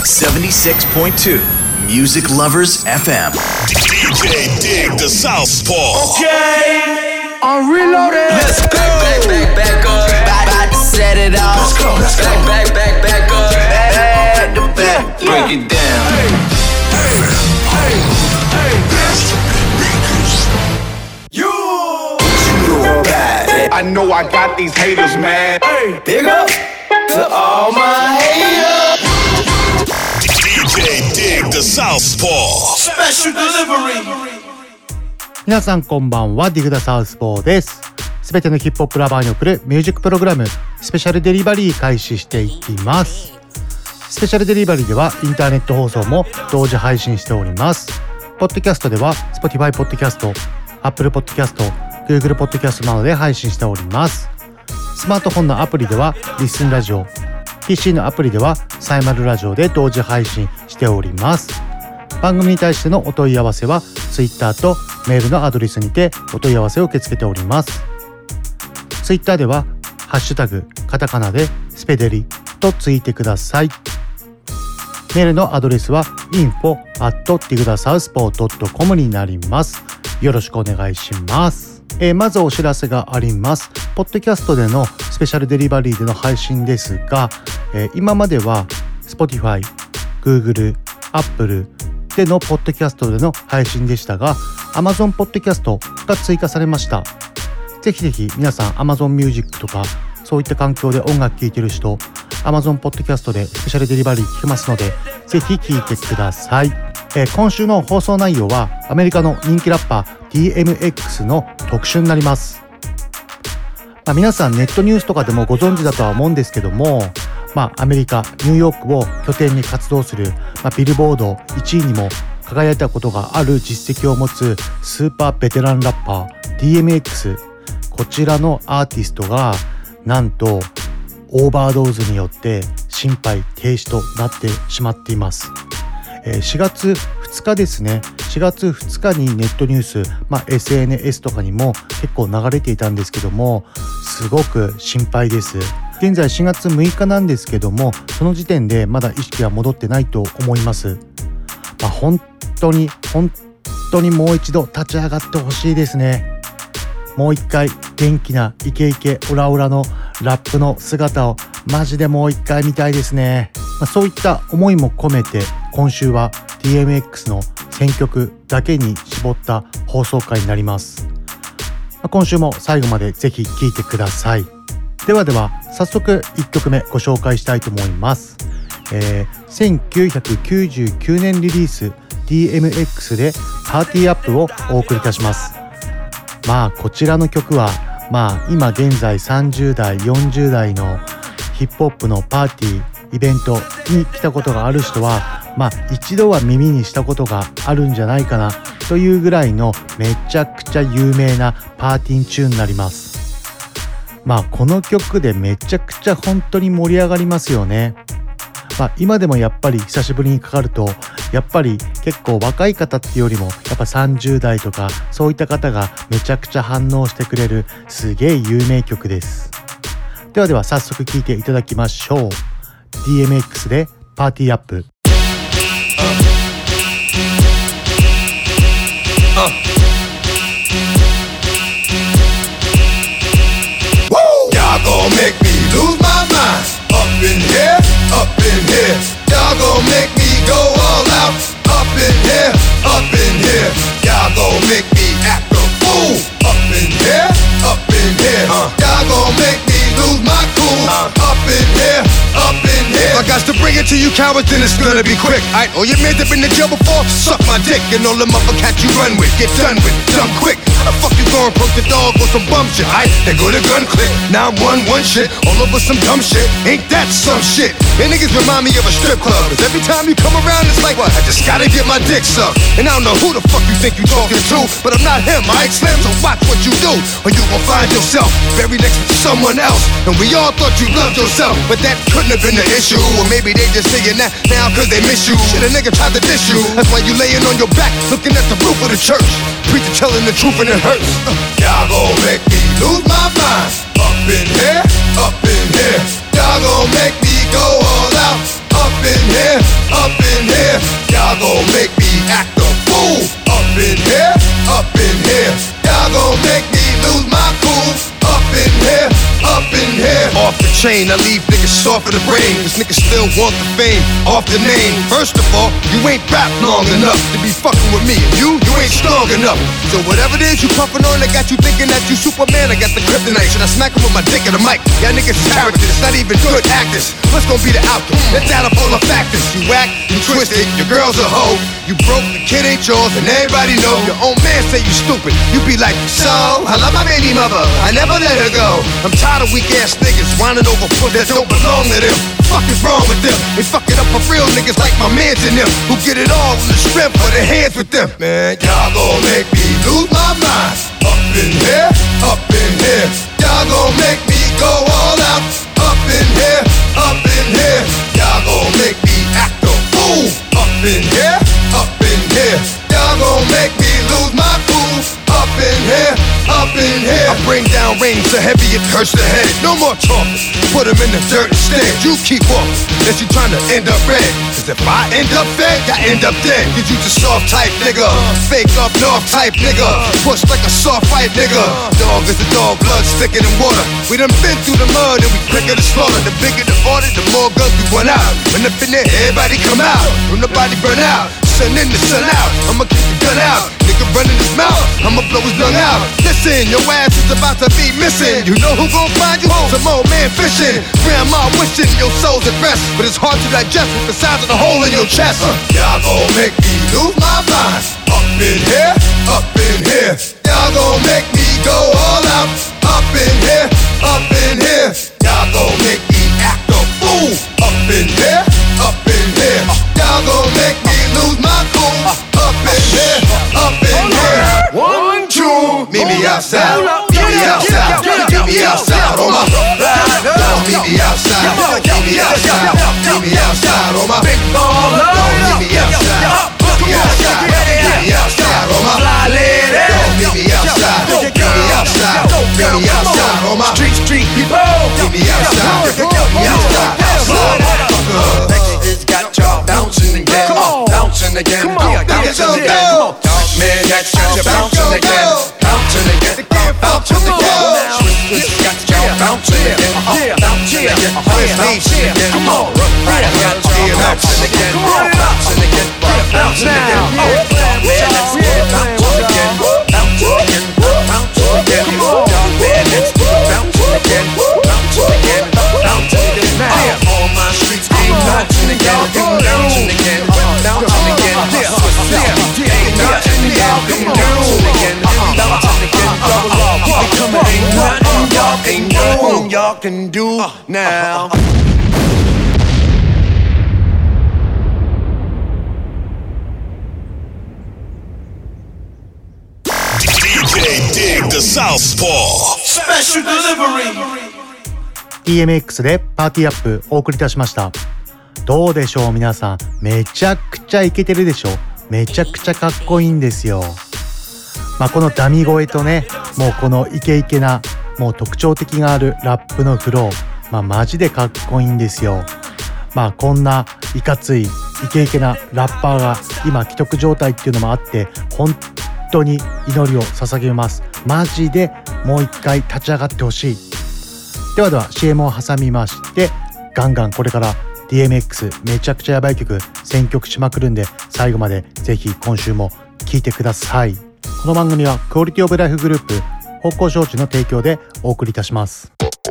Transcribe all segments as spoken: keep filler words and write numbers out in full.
seventy-six point two Music Lovers エフエム D J Dig the Southpaw. Okay, I'm reloaded. Let's go. Back, back, back, back up. About, about to set it off. Let's go, let's back, go. back, back, back up. Back to back. Yeah. Break it down. Hey, hey, hey, hey. You. You bad. I know I got these haters, man. Hey, big up to all my haters. D J Dig the Southpaw. Special delivery. 皆さんこんばんは、ディグダサウスポーです。すべてのヒップホップラバーに送るミュージックプログラムスペシャルデリバリー開始していきます。スペシャルデリバリーではインターネット放送も同時配信しております。ポッドキャストでは Spotify ポッドキャスト、Apple ポッドキャスト、Google ポッドキャストなどで配信しております。スマートフォンのアプリではリッスンラジオ、ピーシー のアプリではサイマルラジオで同時配信しております。番組に対してのお問い合わせは Twitter とメールのアドレスにてお問い合わせを受け付けております。Twitter ではハッシュタグカタカナでスペデリとついてください。メールのアドレスは インフォ アット ディグダサウスポー ドット コム になります。よろしくお願いします。えー、まずお知らせがあります。ポッドキャストでのスペシャルデリバリーでの配信ですが、えー、今までは Spotify、Google、Appleでのポッドキャストでの配信でしたが、 Amazon ポッドキャストが追加されました。ぜひぜひ皆さん Amazon Music とかそういった環境で音楽聴いてる人、 Amazon ポッドキャストでスペシャルデリバリー聴けますので、ぜひ聴いてください。えー、今週の放送内容はアメリカの人気ラッパー ディーエムエックス の特集になります。まあ、皆さんネットニュースとかでもご存知だとは思うんですけども、まあ、アメリカニューヨークを拠点に活動する、まあ、ビルボードいちいにも輝いたことがある実績を持つスーパーベテランラッパー ディーエムエックス、 こちらのアーティストがなんとオーバードーズによって心肺停止となってしまっています。えー、しがつふつかですね。しがつふつかにネットニュース、まあ、エスエヌエス とかにも結構流れていたんですけども、すごく心配です。現在しがつむいかなんですけども、その時点でまだ意識は戻ってないと思います。まあ、本当に本当にもう一度立ち上がってほしいですね。もう一回元気なイケイケオラオラのラップの姿をマジでもう一回見たいですね。まあ、そういった思いも込めて今週は ディーエムエックス の選曲だけに絞った放送回になります。まあ、今週も最後までぜひ聴いてください。ではでは早速いっきょくめご紹介したいと思います。えー、せんきゅうひゃくきゅうじゅうきゅうねんリリース ディーエムエックス でパーティーアップをお送りいたします。まあこちらの曲はまあ今現在さんじゅうだいよんじゅうだいのヒップホップのパーティーイベントに来たことがある人はまあ一度は耳にしたことがあるんじゃないかなというぐらいのめちゃくちゃ有名なパーティーチューンになります。まあこの曲でめちゃくちゃ本当に盛り上がりますよね。まあ今でもやっぱり久しぶりにかかるとやっぱり結構若い方っていうよりもやっぱさんじゅうだいとかそういった方がめちゃくちゃ反応してくれるすげえ有名曲です。ではでは早速聴いていただきましょう。 ディーエムエックス でパーティーアップ。 Y'all gon' make me lose my mind. Up in here, up in here. Y'all gon' make me go all out. Up in here, up in here. Y'all gon' make me act a fool. Up in here, up in here. Uh. Y'all gon' make me lose my cool. Uh. Up in here, up in here. If I got to bring it to you cowards, then it's gonna be quick. Aight, all your men that been in jail before, suck my dick. And all them other cats you run with, get done with, done quick. How the fuck you gon' poke the dog with some bum shit? Aight, they go to gun click. Now I'm one one shit, all over some dumb shit. Ain't that some shit? And niggas remind me of a strip club. Cause every time you come around, it's like, what? I just gotta get my dick sucked. And I don't know who the fuck you think you talking to, but I'm not him, aight, Slim, so watch what you do, or you gon' find yourself buried next to someone else. And we all thought you loved yourself, but that couldn't have been the issue. Or maybe they just saying that now cause they miss you. Shit, a nigga tried to diss you. That's why you laying on your back, looking at the roof of the church. Preacher telling the truth and it hurts. uh, Y'all gon' make me lose my mind. Up in here, up in here. Y'all gon' make me go all out. up in here, up in here. Y'all gon' make me act a fool. Up in here, up in here. Y'all gon' make me lose my cool. Up in here, up in here. Off the chain, I leave niggas soft for the brain. Cause niggas still want the fame, off the name. First of all, you ain't rap long enough to be fucking with me. And you, you ain't strong enough. So whatever it is you puffin' on, I got you thinking that you Superman. I got the kryptonite. Should I smack him with my dick in the mic? Y'all niggas characters, not even good actors. What's gonna be the outcome? Let's add up all the factors. You whack, you twisted, your girl's a hoe. You broke, the kid ain't yours, and everybody know. Your own man say you stupid. You be like, so, I love my baby mother, I never let her go. I'm tired of weak ass niggas whining over foot that don't belong to them. Fuck is wrong with them? They fuck it up for real niggas like my mans in them, who get it all on the strength of their hands with them. Man, y'all gon' make me lose my mind. Up in here, up in here. Y'all gon' make me go all out. Up in here, up in here. Y'all gon' make me act a fool. Up in here, up in here. Y'all gon' make me lose my cool. Up in here, up in here. I bring down rain so heavy it hurts the head. No more talking, put them in the dirt instead. You keep walking, unless you trying to end up red. Cause if I end up fed, I end up dead. Cause you just soft type nigga, fake up north type nigga, push like a soft fight nigga. Dog is a dog, blood thicker than water. We done been through the mud and we quicker to slaughter. The bigger the order, the more guns we run out. When up in there, everybody come out. When nobody burn out, sun in the sun out. I'ma kick the gun out. Nigga run in his mouth, I'ma blow his lung out. Listen, your ass is about to be missing. You know who gon' find you? Some old man fishing. Grandma wishing your soul's at rest, but it's hard to digest with the size of the hole in your chest. uh, Y'all gon' make me lose my mind. Up in here, up in here. Y'all gon' make me go all out. Up in here, up in here. Y'all gon' make me act a fool. Up in here, up in here. Y'all gon' make me lose my cool. Up in here, up in here. One, two, meet me outside. Meet me outside. Meet me outside on my. Meet me outside. Meet me outside. Meet me outside on my big baller. Meet me outside. Meet me outside. Meet me outside on my fly lady. Meet me outside. Meet me outside. Meet me outside on my street street people. Meet me outside. Meet me outside. Outside. Texas got y'all bouncing again. Bouncing again. Bouncing again. Man, got y'all bouncing again. Bouncing again. Bouncing again. Swiss got y'all bouncing again. Bouncing again. Bouncing again. Come on. Got y'all bouncing again. Bouncing again. Bouncing again. Man, let's bounce again. Bouncing again. Bouncing again. Y'all man, let's bouncing again. Bouncing again. Bouncing again. All my streets keep bouncing again. Bouncing again. Bouncing again. Swiss ain't nothing again. Bouncing again. Bouncing again. Double off. Becoming ain't nothing y'all ain't nothing y'all can do now. D J Dig the Southpaw Special Delivery。 ティーエムエックス でパーティーアップお送りいたしました。どうでしょう皆さん、めちゃくちゃイケてるでしょ。めちゃくちゃかっこいいんですよ。まあこのダミ声とね、もうこのイケイケなもう特徴的があるラップのフロー、まあマジでかっこいいんですよ。まあこんないかついイケイケなラッパーが今既得状態っていうのもあって、本当に祈りを捧げます。マジでもう一回立ち上がってほしい。ではでは シーエム を挟みまして、ガンガンこれから ディーエムエックス めちゃくちゃやばい曲選曲しまくるんで、最後までぜひ今週も聴いてください。この番組はクオリティオブライフグループ方向招致の提供でお送りいたします。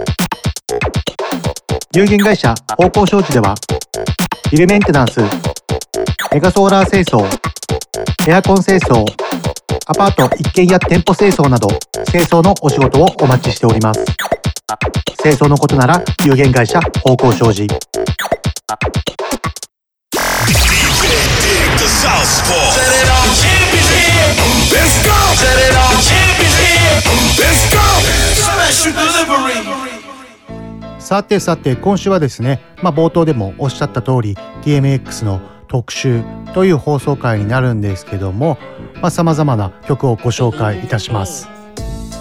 有限会社方向招致ではビルメンテナンス、メガソーラー清掃、エアコン清掃、アパート一軒家店舗清掃など清掃のお仕事をお待ちしております。清掃のことなら有限会社方向商事。 ディージェー Dig the Southpaw Set it off Champions here Let's go Set it off Champions here Let's go Special Delivery。 さてさて今週はですね、まあ、冒頭でもおっしゃった通り ティーエムエックス の特集という放送回になるんですけども、まあ、様々な曲をご紹介いたします。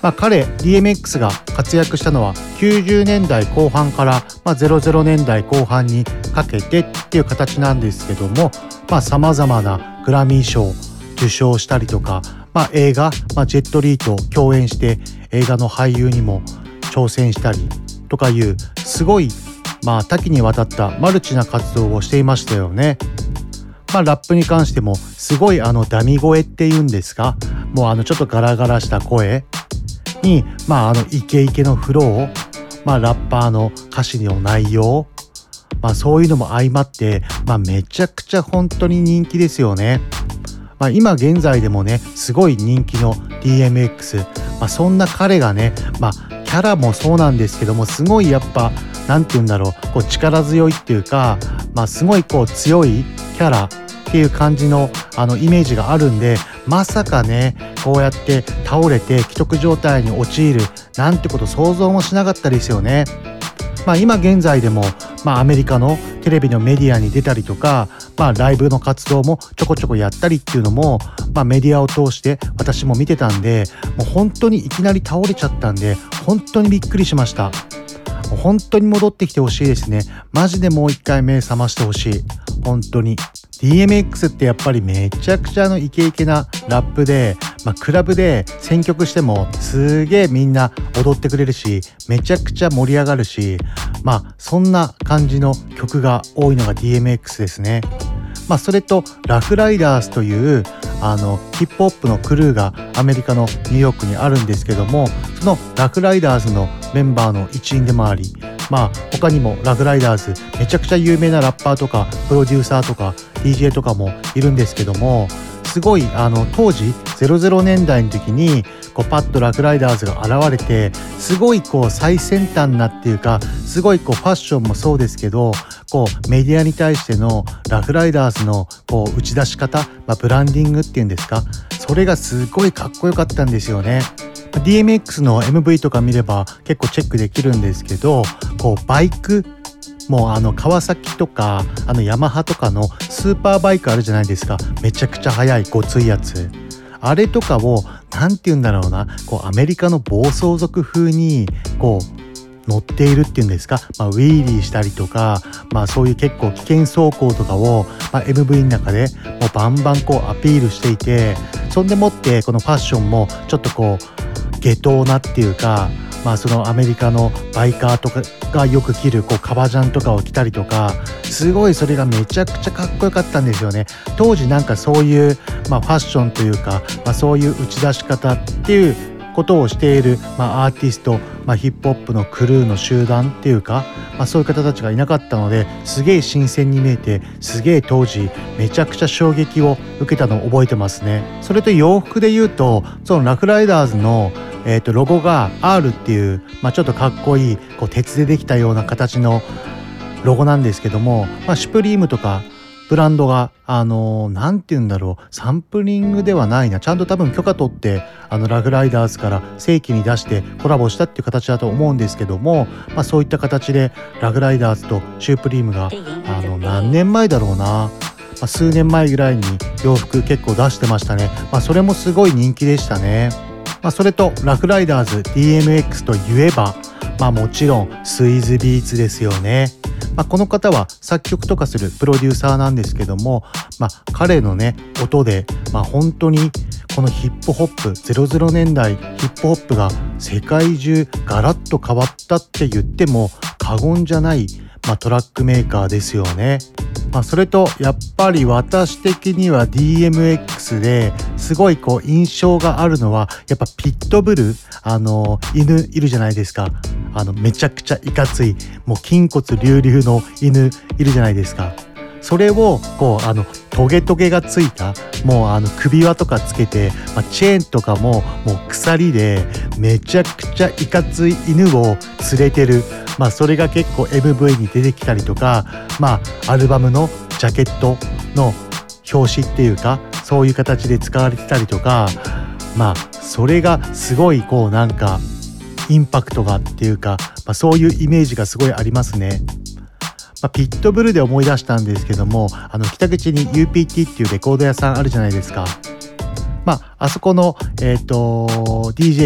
まあ、彼 ディーエムエックス が活躍したのはきゅうじゅうねんだいこう半から、まあ、ゼロゼロねんだいこう半にかけてっていう形なんですけども、まあ、様々なグラミー賞を受賞したりとか、まあ、映画、まあ、ジェットリーと共演して映画の俳優にも挑戦したりとかいうすごい、まあ、多岐にわたったマルチな活動をしていましたよね。まあ、ラップに関してもすごいあのダミ声っていうんですか、もうあのちょっとガラガラした声に、まあ、あのイケイケのフロー、まあ、ラッパーの歌詞の内容、まあ、そういうのも相まって、まあ、めちゃくちゃ本当に人気ですよね。まあ、今現在でもねすごい人気の ディーエムエックス、まあ、そんな彼がね、まあ、キャラもそうなんですけどもすごいやっぱなんて言うんだろう、こう力強いっていうか、まあ、すごいこう強いキャラっていう感じのあのイメージがあるんで、まさかねこうやって倒れて危篤状態に陥るなんてこと想像もしなかったですよね。まあ、今現在でも、まあ、アメリカのテレビのメディアに出たりとか、まあ、ライブの活動もちょこちょこやったりっていうのも、まあ、メディアを通して私も見てたんで、もう本当にいきなり倒れちゃったんで本当にびっくりしました。本当に戻ってきてほしいですね。マジでもう一回目覚ましてほしい。本当に ディーエムエックス ってやっぱりめちゃくちゃのイケイケなラップで、まあ、クラブで選曲してもすげえみんな踊ってくれるし、めちゃくちゃ盛り上がるし、まあそんな感じの曲が多いのが ディーエムエックス ですね。まあそれとラフライダースというあのヒップホップのクルーがアメリカのニューヨークにあるんですけども、そのラフライダーズのメンバーの一員でもあり、まあ他にもラフライダーズめちゃくちゃ有名なラッパーとかプロデューサーとか ディージェー とかもいるんですけども、すごいあの当時ゼロゼロねんだいの時にこうパッとラフライダーズが現れて、すごいこう最先端なっていうか、すごいこうファッションもそうですけど、こうメディアに対してのラフライダーズのこう打ち出し方、まあ、ブランディングっていうんですか、それがすごいかっこよかったんですよね。ディーエムエックス の エムブイ とか見れば結構チェックできるんですけど、こうバイクもうあの川崎とかあのヤマハとかのスーパーバイクあるじゃないですか、めちゃくちゃ速いごついやつ、あれとかをなんて言うんだろうな、こうアメリカの暴走族風にこう乗っているっていうんですか、まあ、ウィーリーしたりとか、まあそういう結構危険走行とかを、まあ、エムブイ の中でもうバンバンこうアピールしていて、そんでもってこのファッションもちょっとこう下等なっていうか、まあそのアメリカのバイカーとかがよく着るこう革ジャンとかを着たりとか、すごいそれがめちゃくちゃかっこよかったんですよね。当時なんかそういう、まあ、ファッションというか、まあ、そういう打ち出し方っていうことをしている、まあ、アーティスト、まあ、ヒップホップのクルーの集団っていうか、まあ、そういう方たちがいなかったので、すげえ新鮮に見えて、すげえ当時めちゃくちゃ衝撃を受けたのを覚えてますね。それと洋服で言うと、そのラフライダーズのえーとロゴが アール っていう、まあ、ちょっとかっこいいこう鉄でできたような形のロゴなんですけども、まあ、シュプリームとかブランドがあのー、なんて言うんだろう、サンプリングではないな、ちゃんと多分許可取ってあのラフライダーズから正規に出してコラボしたっていう形だと思うんですけども、まあ、そういった形でラフライダーズとシュプリームがあの何年前だろうな、まあ、数年前ぐらいに洋服結構出してましたね。まあ、それもすごい人気でしたね。まあ、それとラフライダーズ ディーエムエックス といえば、まあ、もちろんスイズビーツですよね。まあ、この方は作曲とかするプロデューサーなんですけども、まあ、彼のね音で、まあ、本当にこのヒップホップゼロゼロねんだいヒップホップが世界中ガラッと変わったって言っても過言じゃない、まあ、トラックメーカーですよね。まあ、それとやっぱり私的には ディーエムエックス ですごいこう印象があるのは、やっぱピットブル、あの犬いるじゃないですか。あのめちゃくちゃいかついもう筋骨隆々の犬いるじゃないですか。それをこうあのトゲトゲがついたもうあの首輪とかつけて、まあ、チェーンとかももう鎖でめちゃくちゃいかつい犬を連れてる、まあそれが結構 エムブイ に出てきたりとか、まあアルバムのジャケットの表紙っていうかそういう形で使われてたりとか、まあそれがすごいこうなんかインパクトがっていうか、まあ、そういうイメージがすごいありますね。まあ、ピットブルで思い出したんですけども、あの北口に ユーピーティー っていうレコード屋さんあるじゃないですか。まああそこのえっと ディージェー が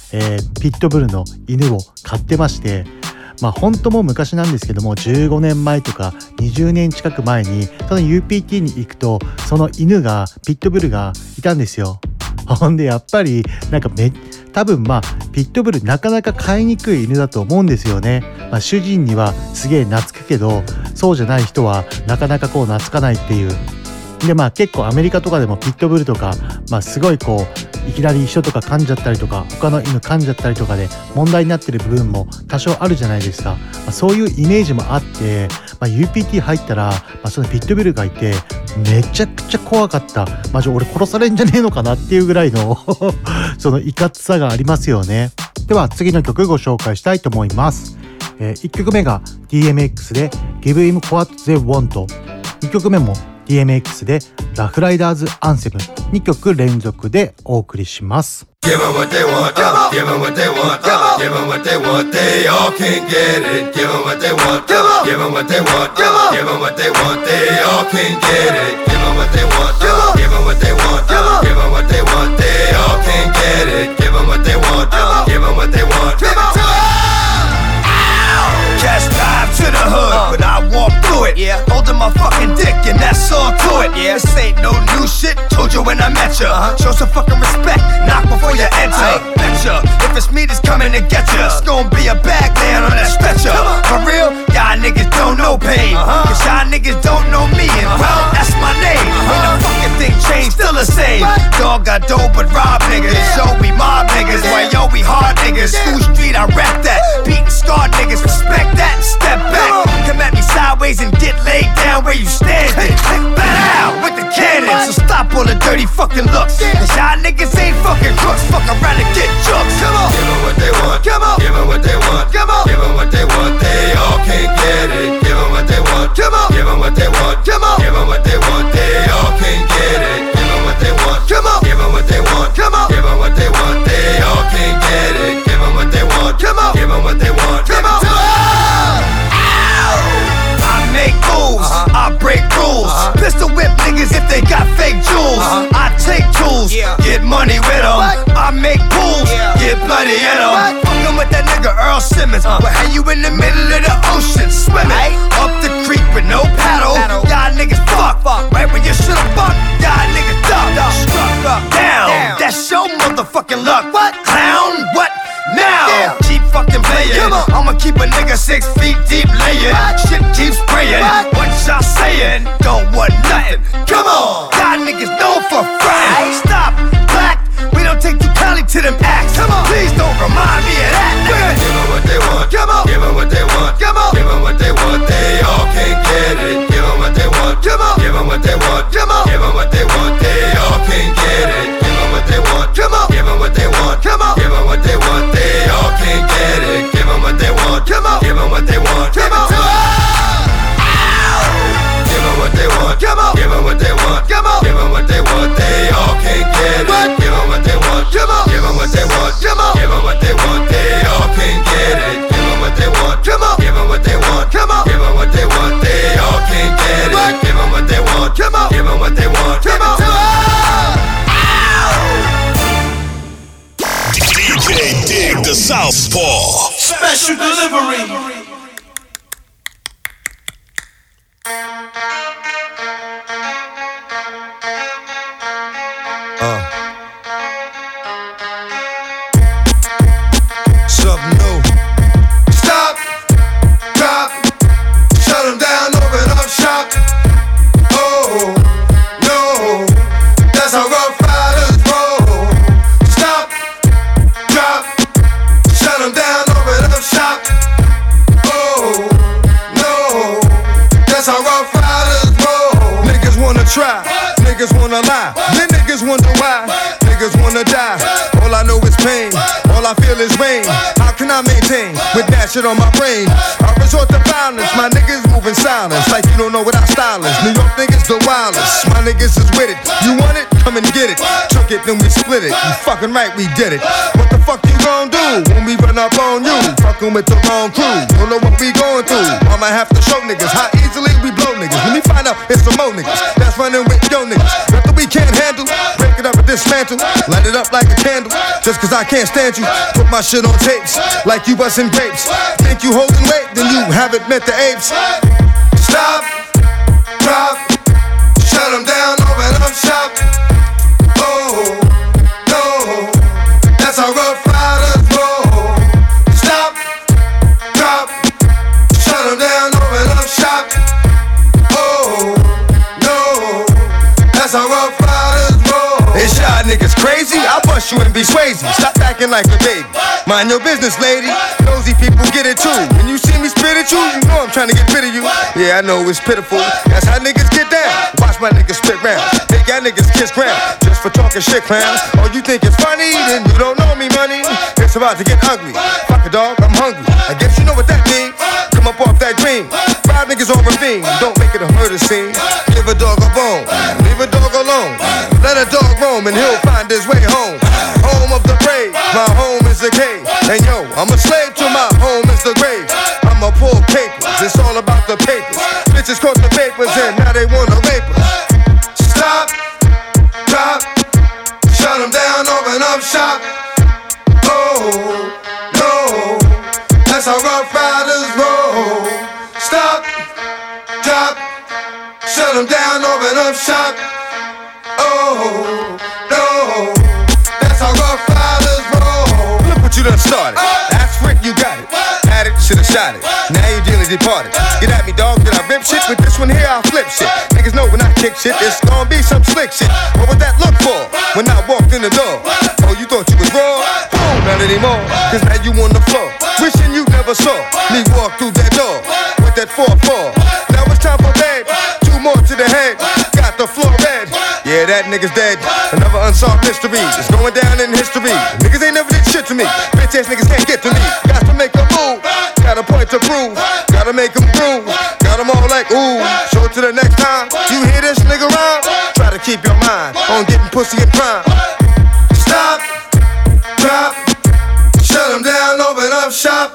えー、ピットブルの犬を飼ってまして、まあ本当もう昔なんですけども、じゅうごねんまえとかにじゅうねん近く前にその ユーピーティー に行くと、その犬がピットブルがいたんですよ。ほんでやっぱりなんかめ多分まあピットブルなかなか飼いにくい犬だと思うんですよね。まあ、主人にはすげえ懐くけど、そうじゃない人はなかなかこう懐かないっていう。でまあ結構アメリカとかでもピットブルとか、まあすごいこういきなり人とか噛んじゃったりとか、他の犬噛んじゃったりとかで問題になってる部分も多少あるじゃないですか。まあ、そういうイメージもあって、まあ、ユーピーティー 入ったら、まあ、そのピットブルがいてめちゃくちゃ怖かった。マジ俺殺されんじゃねえのかなっていうぐらいのそのいかつさがありますよね。では次の曲ご紹介したいと思います。えー、いっきょくめが ディーエムエックス で Give Him What They Want、 にきょくめも ディーエムエックス でラフライダーズアンセム、にきょく連続でお送りします。 Give them what they want, give them what they want, give them what they want, they all can't get it. Give them what they want, give them what they want, give them what they want, they all can't get it. Give them what they want, give them what they want, give them what they want, they all can't get it. Give them what they want, give them what they want, give them to Cash drive to the hood, but I walk through it. Yeah, holding my fucking dick, and that's all to it. Yeah, this ain't no new shit. Told you when I met ya. Uh-huh. Show some fucking respect, knock before you enter. Hey. Betcha, if it's me that's coming to get ya, it's gonna be a bag man on that stretcher. For real, y'all niggas don't know pain. Uh-huh. Cause y'all niggas don't know me, and uh-huh. well, that's my name. Uh-huh. Ain't no fucking thing changed, still the same. What? Dog got dope, but rob niggas. Yeah. Yo, we mob niggas. Yeah. Why yo, we hard niggas. Yeah. School street, I rap that. Beatin' scarred niggas, respect that and step back. Come at me sideways and get laid down where you standing. Bat out with the cannon. So stop all the dirty fucking looks. Cause y'all niggas ain't fucking crooks. Fuck around and get jokes. Come on. Give them what they want. Come on. Give them what they want. Come on. Give them what they want. They all can't get it. Give them what they want. Come on. Give them what they want. Come on. Give them what they want. They all can't get it. Give them what they want. Come on. Give them what they want. Come on. Give them what they want. They all can't get it. Give them what they want. Come on. Give them what they want. Come on. Make moves, uh-huh. I break rules. Uh-huh. Pistol whip niggas if they got fake jewels. Uh-huh. I take tools, yeah. Get money with them. What? I make pools, yeah. Get bloody in them. Fuckin' with that nigga Earl Simmons. Uh. But how you in the middle of the ocean swimming? Right. Up the creek with no paddle. paddle. Y'all niggas fuck, fuck. Right when you should've fucked. Y'all niggas duck, duck. Struck up, down. down. That's your motherfucking luck. What? Clown, what? Now, yeah. Keep fucking playing. I'ma keep a nigga six feet deep laying. What? Shit keeps spraying. What? What y'all saying? Don't want nothing. Come on, y'all niggas known for frying. Stop, black. We don't take too kindly to them acts. Come on, please don't remind me of that. Give them what they want. Come on, give them what they want. Come on, give them what they want. They all can't get it. Give them what they want. Come on, give them what they want. Come on, give them what they want. They all can't get it. Give them what they want. Come on, give them what they want. Come on, give them what they want. They all can't get it. Give them what they want. Come on, give them what they want. Come on, give them what they want. Come on, give them what they want. Come on, give them what they want. They all can't get it. Give them what they want. Come on, give them what they want. Come on, give them what they want. They all can't get it. Give them what they want. Come on, give them what they want. Come on, give them what they want. They all can't get it. Give them what they want. Come on, give them what they want. Come on. D J Dig the Southpaw Special Delivery. Uh. Something new. Stop, drop, shut them down, open up shop. Oh, no, that's how rough riders roll. Stop, drop, shut them down, open up shop. Oh, no, that's how rough riders roll. Niggas wanna try, niggas wanna lie, then niggas wonder why, niggas wanna die. All I know is pain, all I feel is rain. How can I maintain with that shit on my brain? I resort to violence, my niggas moving silence like you don't know what our style is. New York niggas the wildest, my niggas is with it. You want it? Come and get it. Took it, then we split it. You fucking right, we did it. What the fuck you gon' do when we run up on you? Fucking with the wrong crew, don't know what we going through. I'ma have to show niggas how easily we blow niggas. When we find out it's some more niggas that's running with yo niggas. Nothing we can't handle, break it up and dismantle. planter, light it up like a candle. Just cause I can't stand you, put my shit on tapes like you bustin' grapes. Think you holding weight, then you haven't met the apes. Stop, drop, shut them down, open up shop. Oh, no, that's how Rough Riders roll. Stop, drop, shut them down, open up shop. Oh, no, that's how Rough Riders roll. Is y'all niggas crazy? I'll bust you and be Swayze. Stop acting like a baby. Mind your business, lady. Nosy people get it too. When you see me spit at you, you know I'm trying to get rid of you. Yeah, I know it's pitiful. That's how niggas get down. Watch my niggas spit round. Make y'all niggas kiss ground. Just for talking shit, clowns. Oh, you think it's funny? Then you don't know me, money. It's about to get ugly. Fuck a dog, I'm hungry. I guess you know what that means. Come up off that green. Five niggas on ravine. Don't make it a murder scene. Give a dog a bone. Leave a dog alone. Let a dog roam and he'll find his way home. Home of the brave. My home is the cave. And yo, I'm a slave to my home is the grave. I'ma pull papers. It's all about the papers. Bitches caught the papers and now they wanna rape us. Stop, drop, shut them down, open up shop. Oh, no, that's how Rough Riders roll. Stop, drop, shut them down, open up shop. Oh, no, that's how Rough Riders roll. Look what you done started. That's Rick, you got it. Had it, should've shot it. Now you dearly departed. Get at me, dog, did I rip shit? With this one here, I'll flip shit. Niggas know when I kick shit, it's gonna be some slick shit. What would that look for when I walked in the door? Oh, you thought you was raw? Oh, not anymore, cause now you on the floor. Wishing you never saw me walk through that door with that four four. Now it's time for bed. Two more to the head. Got the floor red. Yeah, that nigga's dead. Another unsolved mystery. It's going down in history. Niggas ain't never did shit to me. Bitch ass niggas can't get to me. Got to make a move. Got a point to prove. Gotta make them groove. Got them all like ooh. So to the next time you hear this nigga rhyme, try to keep your mind on getting pussy and crime. Stop, drop, shut them down, open up shop.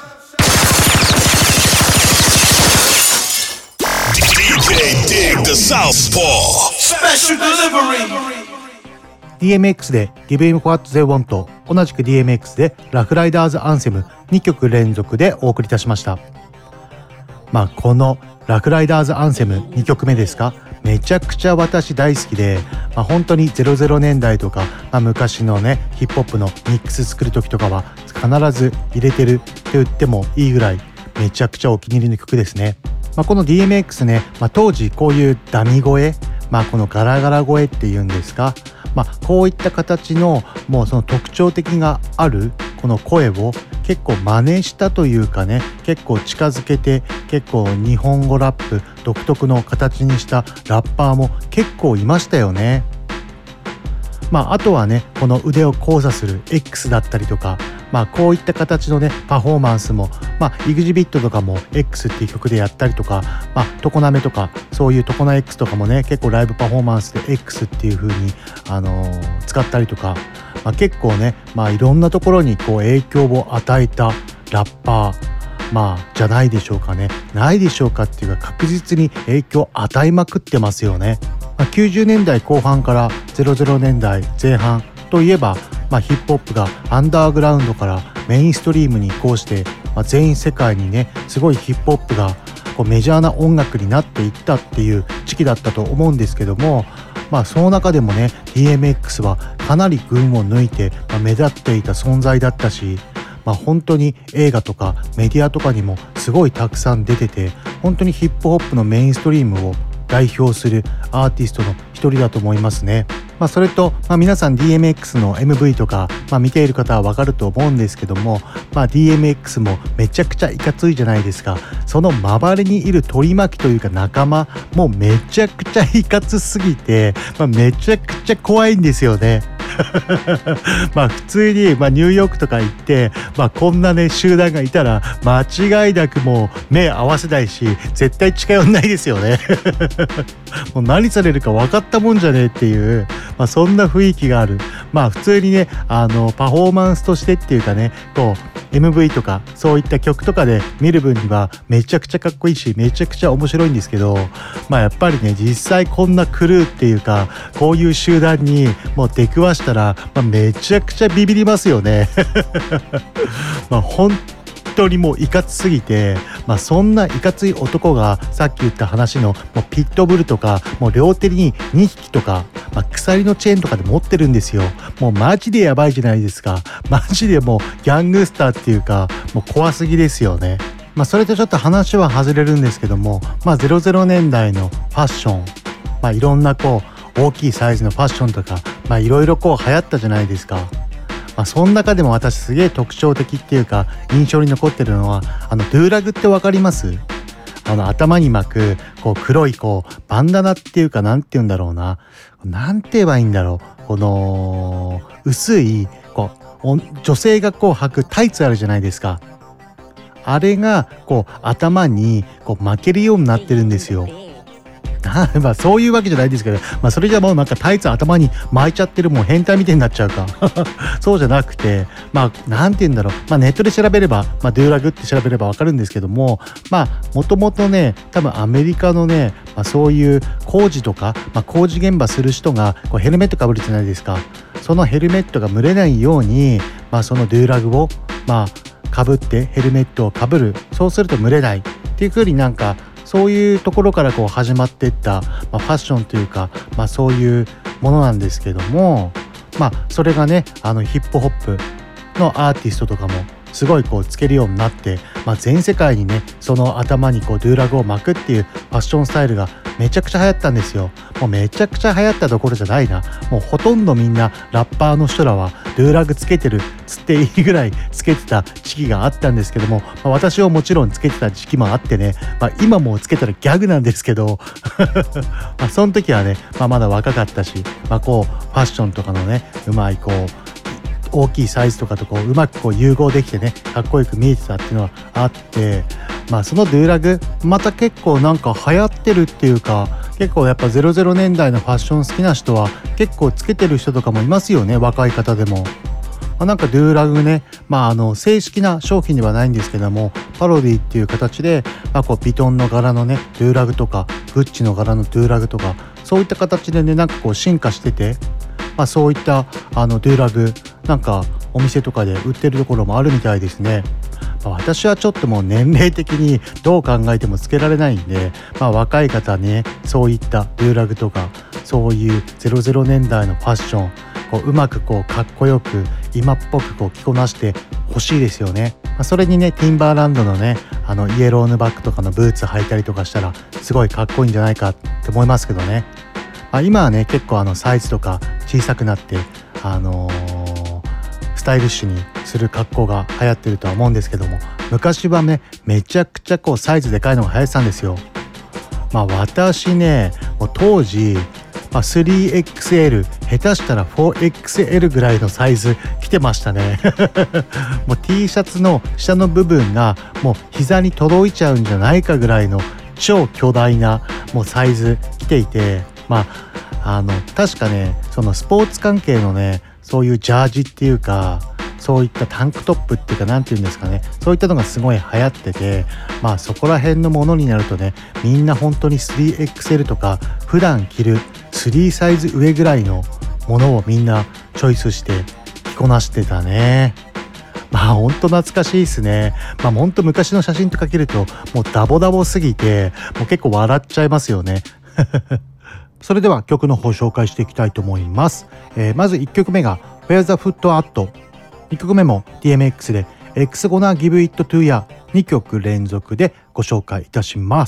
D J Dig the Southpaw Special Delivery。 ディーエムエックス で Give Him What They Want、 同じく ディーエムエックス でラフライダーズアンセムにきょく連続でお送りいたしました。まあこのラフライダーズアンセムにきょくめですか、めちゃくちゃ私大好きで、まあ、本当にゼロゼロねんだいとか、まあ、昔のねヒップホップのミックス作る時とかは必ず入れてると言ってもいいぐらいめちゃくちゃお気に入りの曲ですね。まあ、この ディーエムエックス ね、まあ、当時こういうダミ声、まあ、このガラガラ声っていうんですか、まあ、こういった形のもうその特徴的があるこの声を結構真似したというかね、結構近づけて結構日本語ラップ独特の形にしたラッパーも結構いましたよね。まあ、あとはねこの腕を交差する X だったりとか、まあ、こういった形のねパフォーマンスも、まあ、イグジビットとかも X っていう曲でやったりとか、まあ、トコナメとかそういうトコナ X とかもね結構ライブパフォーマンスで X っていう風に、あのー、使ったりとか、まあ、結構ね、まあ、いろんなところにこう影響を与えたラッパー、まあじゃないでしょうかね。ないでしょうかっていうか確実に影響を与えまくってますよね。まあ、きゅうじゅうねんだいこう半からゼロゼロねんだいぜん半といえば、まあ、ヒップホップがアンダーグラウンドからメインストリームに移行して、まあ、全員世界にねすごいヒップホップがこうメジャーな音楽になっていったっていう時期だったと思うんですけども、まあその中でもね ディーエムエックス はかなり群を抜いて、まあ、目立っていた存在だったし、まあ、本当に映画とかメディアとかにもすごいたくさん出てて、本当にヒップホップのメインストリームを代表するアーティストの一人だと思いますね。まあ、それと、まあ、皆さん ディーエムエックス の エムブイ とか、まあ、見ている方はわかると思うんですけども、まあ、ディーエムエックス もめちゃくちゃいかついじゃないですか。その周りにいる取り巻きというか仲間もめちゃくちゃいかつすぎて、まあ、めちゃくちゃ怖いんですよね。まあ普通に、まあ、ニューヨークとか行って、まあ、こんなね集団がいたら間違いなくもう目合わせないし絶対近寄んないですよね。もう何されるか分かったもんじゃねえっていう、まあ、そんな雰囲気がある、 まあ普通にねあのパフォーマンスとしてっていうかねこう エムブイ とかそういった曲とかで見る分にはめちゃくちゃかっこいいしめちゃくちゃ面白いんですけど、まあやっぱりね実際こんなクルーっていうかこういう集団にもう出くわしたら、まあ、めちゃくちゃビビりますよねまあ本当にもういかつすぎて、まあ、そんないかつい男がさっき言った話のもうピットブルとかもう両手ににひきとか、まあ、鎖のチェーンとかで持ってるんですよ。もうマジでやばいじゃないですか。マジでもうギャングスターっていうかもう怖すぎですよね。まあそれとちょっと話は外れるんですけども、まあゼロゼロねんだいのファッション、まあいろんなこう大きいサイズのファッションとかまあいろいろこう流行ったじゃないですか。まあ、その中でも私すげえ特徴的っていうか印象に残ってるのはあのドゥーラグってわかります？あの頭に巻くこう黒いこうバンダナっていうかなんて言うんだろうな、なんて言えばいいんだろう、この薄いこう女性がこう履くタイツあるじゃないですか。あれがこう頭にこう巻けるようになってるんですよ。まあそういうわけじゃないですけど、まあそれじゃもうなんかタイツ頭に巻いちゃってるもう変態みたいになっちゃうかそうじゃなくて、まあなんて言うんだろう、まあネットで調べれば、まあドゥーラグって調べればわかるんですけども、まあもともとね多分アメリカのね、まあ、そういう工事とか、まあ、工事現場する人がこうヘルメットかぶるじゃないですか。そのヘルメットが蒸れないように、まあそのドゥーラグをまあかぶってヘルメットをかぶる、そうすると蒸れないっていう風になんかそういうところからこう始まっていった、まあ、ファッションというか、まあ、そういうものなんですけども、まあそれがねあのヒップホップのアーティストとかもすごいこうつけるようになって、まあ、全世界にねその頭にこうドゥーラグを巻くっていうファッションスタイルがめちゃくちゃ流行ったんですよ。もうめちゃくちゃ流行ったどころじゃないな、もうほとんどみんなラッパーの人らはドゥーラグつけてるつっていいぐらいつけてた時期があったんですけども、まあ、私はもちろんつけてた時期もあってね、まあ、今もつけたらギャグなんですけどまあその時はね、まあ、まだ若かったし、まあ、こうファッションとかのねうまいこう大きいサイズとかとこううまくこう融合できてねかっこよく見えてたっていうのはあって、まあそのドゥーラグまた結構なんか流行ってるっていうか、結構やっぱゼロゼロねんだいのファッション好きな人は結構つけてる人とかもいますよね、若い方でも。まあ、なんかドゥーラグね、まああの正式な商品ではないんですけどもパロディっていう形で、まあ、こうヴィトンの柄のねドゥーラグとかグッチの柄のドゥーラグとかそういった形でねなんかこう進化してて、まあ、そういったあのドゥーラグなんかお店とかで売ってるところもあるみたいですね。まあ、私はちょっともう年齢的にどう考えてもつけられないんで、まあ、若い方ねそういったドゥーラグとかそういうゼロゼロねんだいのファッションこううまくこうかっこよく今っぽくこう着こなしてほしいですよね。まあ、それにねティンバーランドのねあのイエローヌバックとかのブーツ履いたりとかしたらすごいかっこいいんじゃないかって思いますけどね。まあ、今はね結構あのサイズとか小さくなってあのー、スタイリッシュにする格好が流行ってるとは思うんですけども、昔はねめちゃくちゃこうサイズでかいのが流行ってたんですよ。まあ私ねもう当時、まあ、スリーエックスエル 下手したら フォーエックスエル ぐらいのサイズ着てましたねもう T シャツの下の部分がもう膝に届いちゃうんじゃないかぐらいの超巨大なもうサイズ着ていて、まああの確かねそのスポーツ関係のねそういうジャージっていうかそういったタンクトップっていうかなんていうんですかね、そういったのがすごい流行ってて、まあそこら辺のものになるとねみんな本当に スリーエックスエル とか普段着るスリーサイズ上ぐらいのものをみんなチョイスして着こなしてたね。まあほんと懐かしいですね。まあほんと昔の写真とか見るともうダボダボすぎてもう結構笑っちゃいますよねそれでは曲の方紹介していきたいと思います。えー、まずいっきょくめが Where the Foot At、にきょくめも ディーエムエックス で X Gonna Give It To Ya、 にきょく連続でご紹介いたします。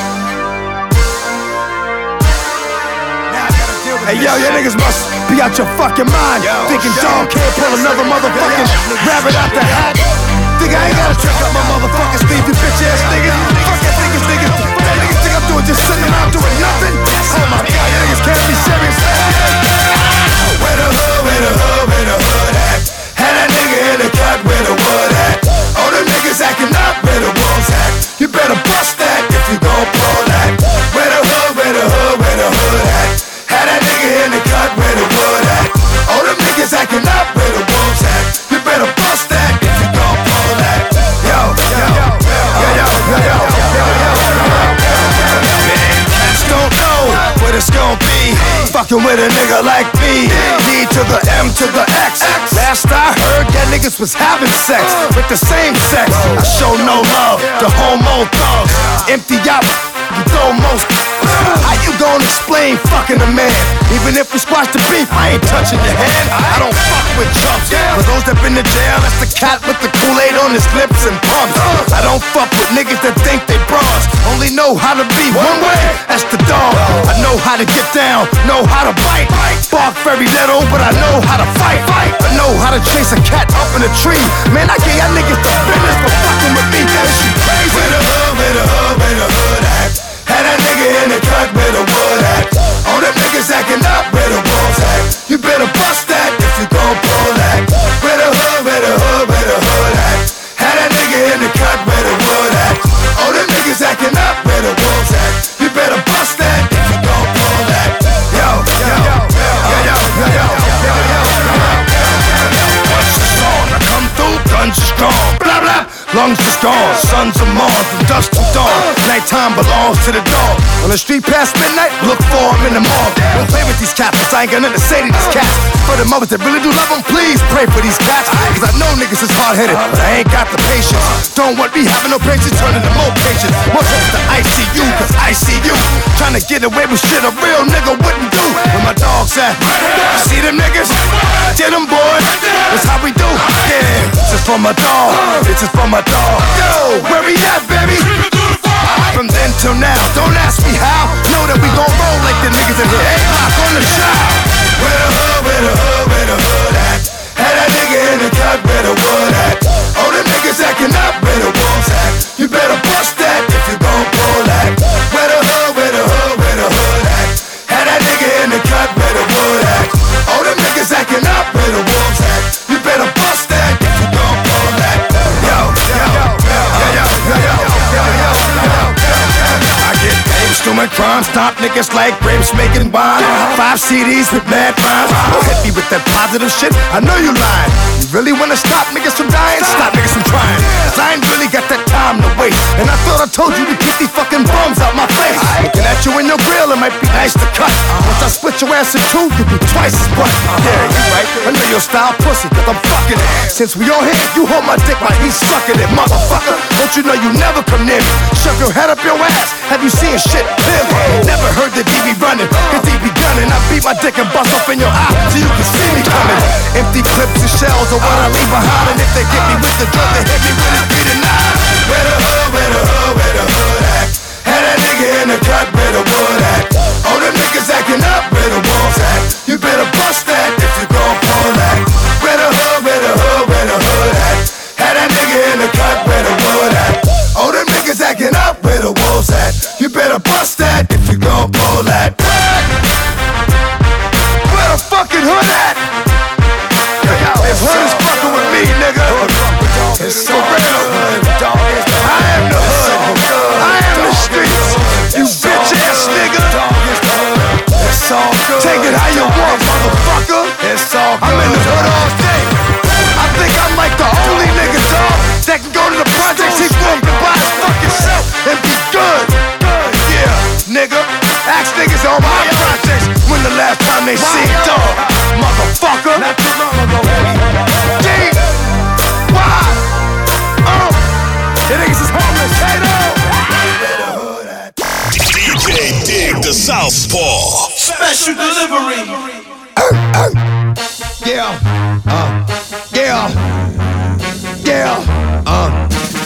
Hey yo, you niggas must be out your fucking mind. Thinking dog can't pull another motherfucking rabbit out the hat. Think I ain't gotta check out my motherfucking sleeve, you bitch ass niggas. Fuck that niggas, niggas. What that niggas think I'm doing, just sitting around doing nothing? Oh my god, you niggas can't be serious. Where the hood, where the hood, where the hood at? Had that nigga in the cut where the wood at. All them niggas acting up where the wolves at. You better bust that if you gon' blow that. Where the hood, where the hood, where the hood at? Had that nigga in the cut where the wood at. All them niggas fucking with a nigga like me. D to the M to the X. Last I heard, that niggas was having sex with the same sex. I show no love to homo thugs. Empty out, you throw most. How you gonna explain fucking a man? Even if we squash the beef, I ain't touching your hand. I don't fuck with chumps. For those that been to jail, that's the cat with the Kool-Aid on his lips and pumps. I don't fuck with niggas that think they bras. Only know how to be one way, that's the dog. I know how to get down, know how to bite. Bark very little, but I know how to fight. I know how to chase a cat up in a tree. Man, I gave y'all niggas the business for fucking with me. That shit crazy. Where the hood, where the hood, where the hood at? Had that nigga in the cut where the wood at. All them niggas acting up where the wolves at. You better bust that if you gon' pull that. Where the hood, where the hood, where the hood at. Had that nigga in the cut where the wood at. All them niggas acting up where the wolves at. You better bust that if you gon' pull that. Yo, yo, yo, yo, yo, yo, yo, yo, yo, yo. Once it's on, I come through, guns are strong. Blah, blah. Lungs are strong, sons are Mars, from dusk to dawn. Nighttime belongs to the dog. On the street past midnight, look for him in the morgue. Don't play with these cats, I ain't got nothing to say to these cats. For the mothers that really do love them, please pray for these cats. Cause I know niggas is hard-headed, but I ain't got the patience. Don't want me having no patience, turning to more patience. More trips to I C U, cause I see you trying to get away with shit a real nigga wouldn't do. Where my dogs at? See them niggas? Get them boys, that's how we do. Yeah, this is for my dog, this is for my dog. Yo, where we at, baby? From then till now, don't ask me how. Know that we gon' roll like the niggas in here. A-Block on the shop. Where the hood, where the hood, where the hood at? Had that nigga in the cut where the wood at. All them niggas acting up where the wolves at. You better bust that if you gon' pull that. Where the hood, where the hood, where the hood at? Had that nigga in the cut where the wood at. All them niggas acting up where the wolves at. You better bust that if you gon' pull that. Yo, yo, yo, yo, yo, yo, yo, yo, yo, yo. I get names, doing crime, stop niggas like grapes making wine. Five C Ds with mad rhymes. Don't hit me with that positive shit, I know you lying. You really wanna stop niggas from dying? Stop niggas from trying. Cause I ain't really got that time to wait. And I thought I told you to keep these fucking bums out my face. Looking at you in your grill, it might be nice to cut. Once I split your ass in two, you'll be twice as butt. Yeah, you right, I know your style pussy, cause I'm fucking it. Since we all here, you hold my dick while he's sucking it, motherfucker. Don't you know you never come near me? Shove your head up your ass, have you seen shit clearly? Never heard the D B running, cause he be gunning. I beat my dick and bust off in your eye, so you can see me coming. Empty clips and shells are what I leave behind. And if they get me with the drug, they hit me with a beat and nine. Where the hood, where the hood, where the hood at? Had that nigga in the cut where the wood at. All them niggas acting up where the wolves at. You better bust that if you gon' pull that. Where the hood, where the hood, where the hood at? Had that nigga in the cut where the wood at. All them niggas acting up where the wolves at. You better bust that if you gon' pull that. Where the fucking hood at? If hood is fucking with me, nigga, it's so real. I am the hood. I am the streets. You bitch ass nigga. It's all good. Take it how you want, motherfucker. It's all good. I'm in the hood all day. I think I'm like the only nigga, dog, that can go to the projects he walked and buy his fucking self and be good. Yeah, nigga. Ask niggas on my projects when the last time they see dog, motherfucker. Not too long ago, baby. D, why? Oh, the niggas is homeless. Hey, D J Dig the Southpaw. Special delivery. Yeah, uh, yeah, yeah, uh.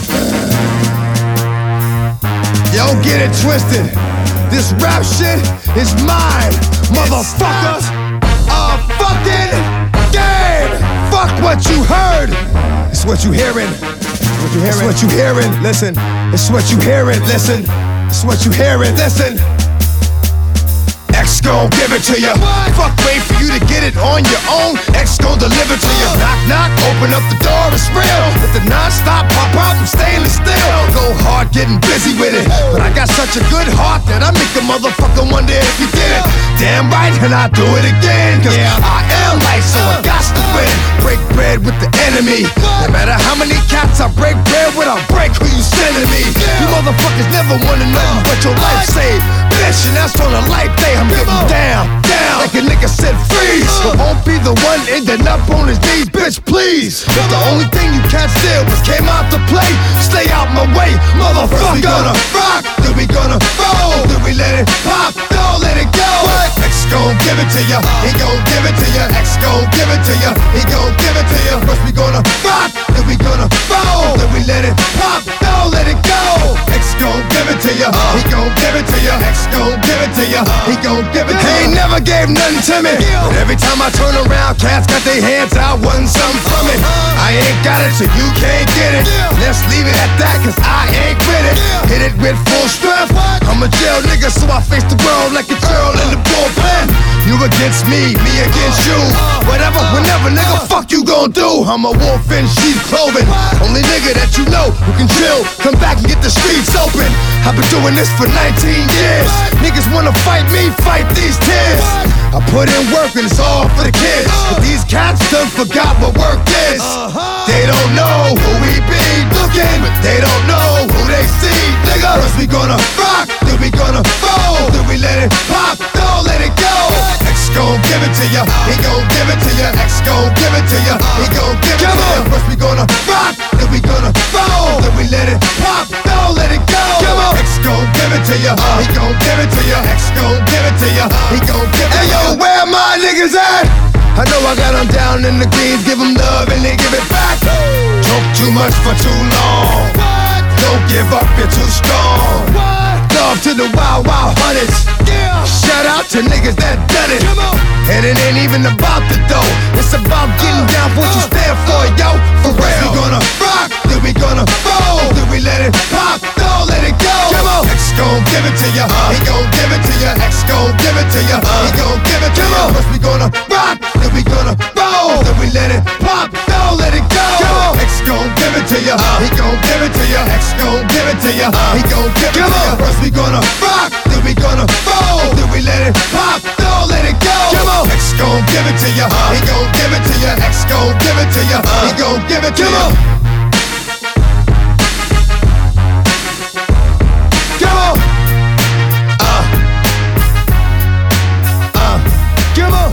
Yo, get it twisted. This rap shit is mine, motherfucker. A fucking game. Fuck what you heard. It's what you hearing. What you hearing? It's what you hearing. Listen. It's what you hearing. Listen. It's what you hearing. Listen. X gon' give it to you. Fuck, wait for you to get it on your own. X gon' deliver to you. Knock, knock, open up the door, it's real. With the non-stop pop out and stainless steel. Go hard, getting busy with it. But I got such a good heart that I make a motherfucker wonder if you did it. Damn right, and I do it again. Cause I am light, so I got to win. Break bread with the enemy. No matter how many cats I break bread with, I'll break who you sending me. You motherfuckers never wanna know what your life saved. Bitch, and that's on a life day. I'm getting down, down like a the one ending up on his knees, bitch, please. If the only thing you can't steal was came out to play, stay out my way, motherfucker. We gonna rock, then we gonna roll, then we let it pop, don't let it go. What? X gon' give it to ya, he gon' give it to ya. X gon' give it to ya, he gon' give it to ya. First we gonna rock, then we gonna roll, then we let it pop, don't let it go. X gon' give it to ya, he gon' give it to ya. X gon' give it to ya, he gon' give it to ya. He ain't never gave nothing to me, but every time I turn around, cats got their hands out, wanting something from it. I ain't got it, so you can't get it. Let's leave it at that, cause I ain't with it. Hit it with full strength. I'm a jail nigga, so I face the world like a girl in the bullpen. You against me, me against you. Whatever, whenever, nigga, fuck you gon' do. I'm a wolf in sheep's clothing. Only nigga that you know who can chill. Come back and get the streets open. I've been doing this for nineteen years. Niggas wanna fight me, fight these tears. I put in work and it's all for the kids. But these cats done forgot what work is. They don't know who we be looking, but they don't know who they see. Nigga, first we gonna rock, then we gonna roll, then we let it pop, don't let it go. X gon' give it to ya, he gon' give it to ya. X gon' give it to ya, he gon' give it to ya. First we gonna rock, then we gonna roll, then we let it pop, don't let it go. X gon' give it to ya, he gon' give it to ya. X gon' give it to ya, he gon' give it to ya. Hey yo, where my niggas at? I know I got them down in the greens, give them love and they give it back. Talk too much for too long. Don't give up, you're too strong. Love to the wild, wild hunters. Shout out to niggas that done it. And it ain't even about the dough, it's about getting down for what you stand for, yo. For real. We gonna rock, then we gonna roll, then we let it pop, don't let it go. X gon' give it to ya, he gon' give it to ya. X gon' give it to ya, he gon' give it to ya. First we gonna rock, then we gonna roll, then we let it pop, don't let it go. X gon' give it to ya, he gon' give it to ya. X gon' give it to ya, he gon' give it to ya. First we gonna rock, then we gonna roll, then we let it pop, don't let it go. X gon' give it to ya, he gon' give it to ya. X gon' give it to ya, he gon' give it to ya. Come on, uh, uh, come on.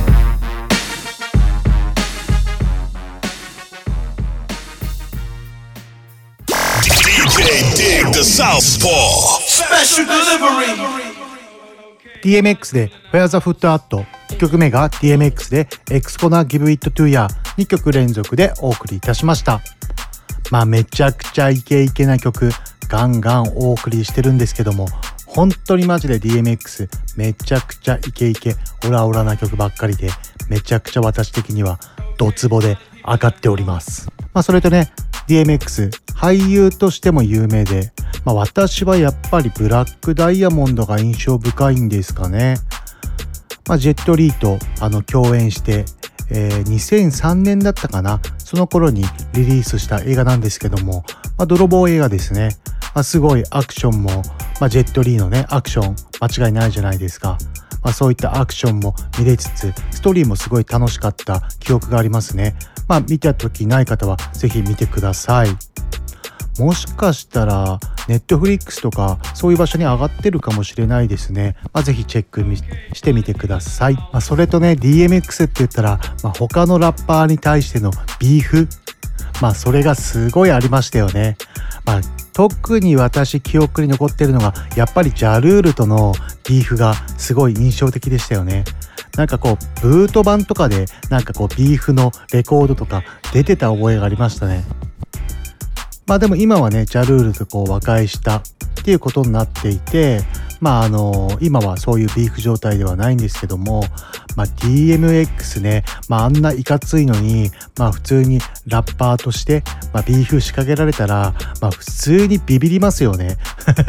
D J Dig the Southpaw Special Delivery。 ディーエムエックス で Where the Foot At、 いっきょくめが ディーエムエックス で X Gonna Give It To Ya、 にきょく連続でお送りいたしました。まあめちゃくちゃイケイケな曲ガンガンお送りしてるんですけども、本当にマジで ディーエムエックス めちゃくちゃイケイケオラオラな曲ばっかりで、めちゃくちゃ私的にはドツボで上がっております。まあそれとね、 ディーエムエックス 俳優としても有名で、まあ私はやっぱりブラックダイヤモンドが印象深いんですかね。まあジェットリーとあの共演して、えー、にせんさんねんだったかな、その頃にリリースした映画なんですけども、まあ、泥棒映画ですね。まあ、すごいアクションも、まあ、ジェットリーのねアクション間違いないじゃないですか。まあ、そういったアクションも見れつつ、ストーリーもすごい楽しかった記憶がありますね。まあ見た時ない方はぜひ見てください。もしかしたらネットフリックスとかそういう場所に上がってるかもしれないですね。まあ、ぜひチェックしてみてください。まあ、それとね ディーエムエックス って言ったら、まあ、他のラッパーに対してのビーフ、まあそれがすごいありましたよね。まあ特に私記憶に残ってるのがやっぱりジャルールとのビーフがすごい印象的でしたよね。なんかこうブート版とかでなんかこうビーフのレコードとか出てた覚えがありましたね。まあでも今はねジャルールとこう和解したっていうことになっていて、まああの今はそういうビーフ状態ではないんですけども、まあ ディーエムエックス ね、まああんないかついのに、まあ普通にラッパーとして、まあ、ビーフ仕掛けられたら、まあ普通にビビりますよね。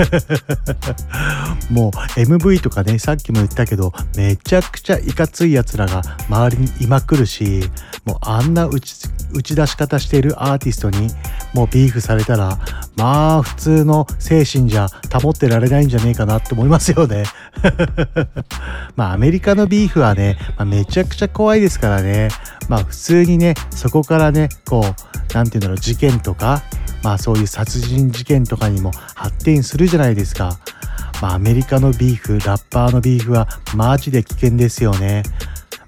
もう エムブイ とかね、さっきも言ったけど、めちゃくちゃいかつい奴らが周りにいまくるし、もうあんな打ち、打ち出し方しているアーティストにもうビーフされたら、まあ普通の精神じゃ保ってられないんじゃねえかなって思いますよね。まあアメリカのビーフはね、まあ、めちゃくちゃ怖いですからね。まあ普通にね、そこからね、こうなんていうんだろう、事件とか、まあそういう殺人事件とかにも発展するじゃないですか。まあアメリカのビーフ、ラッパーのビーフはマジで危険ですよね。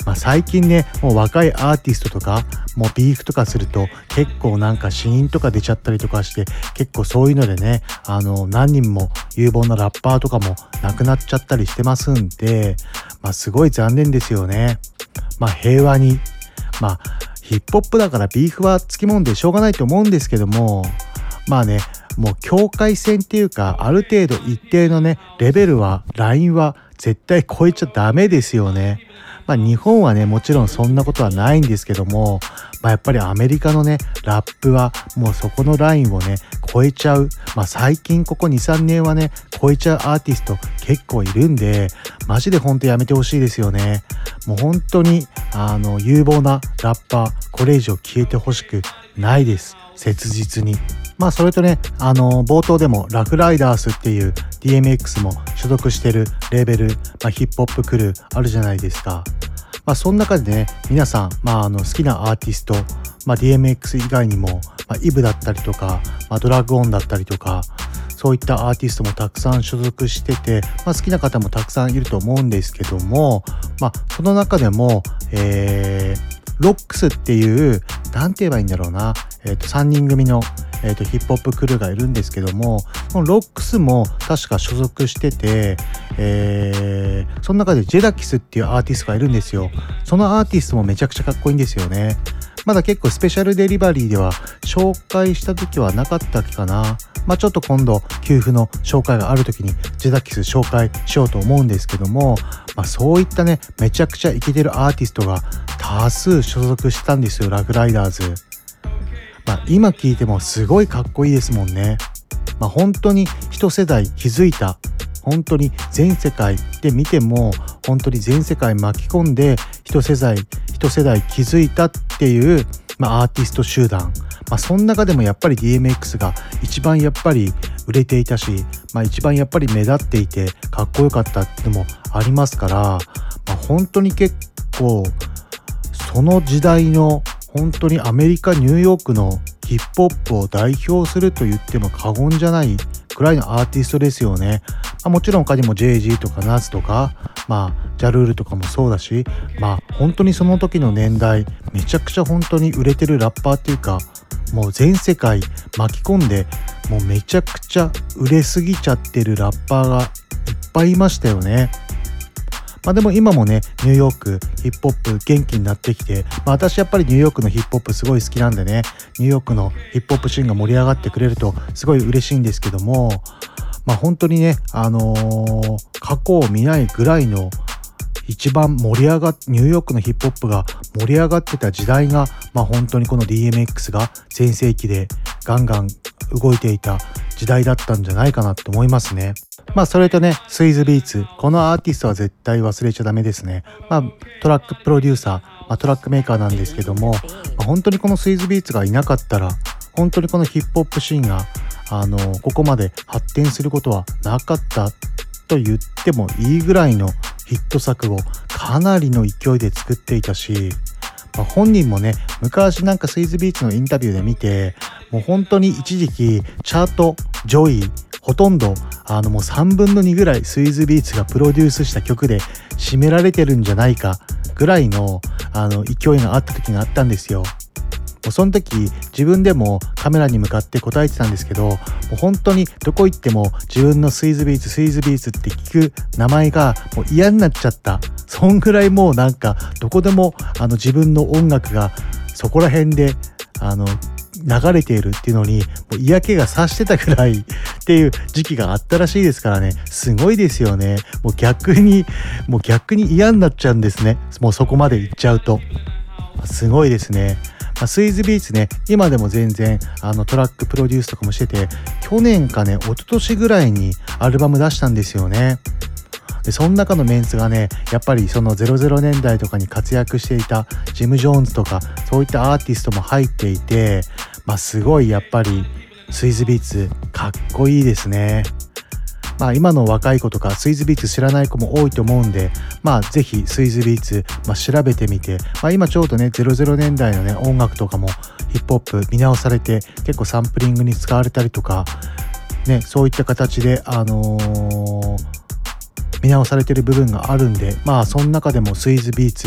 まあ、最近ねもう若いアーティストとかもうビーフとかすると結構なんか死因とか出ちゃったりとかして、結構そういうのでねあの何人も有望なラッパーとかも亡くなっちゃったりしてますんで、まあすごい残念ですよね。まあ平和に、まあヒップホップだからビーフはつきもんでしょうがないと思うんですけども、まあねもう境界線っていうかある程度一定のねレベルはラインは絶対超えちゃダメですよね。まあ日本はねもちろんそんなことはないんですけども、まあやっぱりアメリカのねラップはもうそこのラインをね超えちゃう、まあ最近ここ にさんねんはね超えちゃうアーティスト結構いるんで、マジでほんとやめてほしいですよね。もう本当にあの有望なラッパーこれ以上消えてほしくないです、切実に。まあそれとねあの冒頭でもラフライダースっていう ディーエムエックス も所属してるレーベル、まあ、ヒップホップクルーあるじゃないですか。まあその中でね皆さん、まあ、あの好きなアーティスト、まあ、ディーエムエックス 以外にも、まあ、イブだったりとか、まあ、ドラッグオンだったりとかそういったアーティストもたくさん所属してて、まあ、好きな方もたくさんいると思うんですけども、まあその中でも、えー、ロックスっていうなんて言えばいいんだろうな、えー、とさんにん組のえーと、ヒップホップクルーがいるんですけども、このロックスも確か所属してて、えー、その中でジェダキスっていうアーティストがいるんですよ。そのアーティストもめちゃくちゃかっこいいんですよね。まだ結構スペシャルデリバリーでは紹介した時はなかったっけかな。まあちょっと今度給付の紹介がある時にジェダキス紹介しようと思うんですけども、まあそういったねめちゃくちゃイケてるアーティストが多数所属してたんですよ、ラフライダーズ。まあ、今聞いてもすごいかっこいいですもんね。まあ、本当に一世代気づいた、本当に全世界で見ても本当に全世界巻き込んで一世代一世代気づいたっていう、まあ、アーティスト集団、まあ、その中でもやっぱり ディーエムエックス が一番やっぱり売れていたし、まあ、一番やっぱり目立っていてかっこよかったってのもありますから、まあ、本当に結構その時代の本当にアメリカニューヨークのヒップホップを代表すると言っても過言じゃないくらいのアーティストですよね。まあ、もちろん他にも ジェイジー とかナズとか、まあジャルールとかもそうだし、まあ本当にその時の年代めちゃくちゃ本当に売れてるラッパーっていうか、もう全世界巻き込んでもうめちゃくちゃ売れすぎちゃってるラッパーがいっぱいいましたよね。まあでも今もねニューヨークヒップホップ元気になってきて、まあ、私やっぱりニューヨークのヒップホップすごい好きなんでね、ニューヨークのヒップホップシーンが盛り上がってくれるとすごい嬉しいんですけども、まあ本当にねあのー、過去を見ないぐらいの一番盛り上がっニューヨークのヒップホップが盛り上がってた時代が、まあ本当にこの ディーエムエックス が全盛期でガンガン動いていた時代だったんじゃないかなと思いますね。まあそれとねスイズビーツ、このアーティストは絶対忘れちゃダメですね。まあトラックプロデューサー、まあ、トラックメーカーなんですけども、まあ、本当にこのスイズビーツがいなかったら本当にこのヒップホップシーンがあのここまで発展することはなかったと言ってもいいぐらいのヒット作をかなりの勢いで作っていたし、まあ、本人もね昔なんかスイズビーツのインタビューで見て、もう本当に一時期チャート上位ほとんどあのもうさんぶんのにぐらいスイズビーツがプロデュースした曲で占められてるんじゃないかぐらいのあの勢いがあった時があったんですよ。もうその時自分でもカメラに向かって答えてたんですけど、もう本当にどこ行っても自分のスイズビーツスイズビーツって聞く名前がもう嫌になっちゃった。そんぐらいもうなんかどこでもあの自分の音楽がそこら辺であの流れているっていうのにもう嫌気がさしてたくらいっていう時期があったらしいですからね。すごいですよね。もう逆にもう逆に嫌になっちゃうんですね。もうそこまで行っちゃうとすごいですね。まあ、スイズビーツね今でも全然あのトラックプロデュースとかもしてて、去年かね一昨年ぐらいにアルバム出したんですよね。でその中のメンツがねやっぱりそのゼロゼロねんだいとかに活躍していたジム・ジョーンズとかそういったアーティストも入っていて、まあすごいやっぱりスイズビーツかっこいいですね。まあ今の若い子とかスイズビーツ知らない子も多いと思うんで、まあぜひスイズビーツ、まあ、調べてみて、まあ今ちょうどねゼロゼロねんだいのね音楽とかもヒップホップ見直されて結構サンプリングに使われたりとかね、そういった形であのー見直されてる部分があるんで、まあその中でもスイズビーツ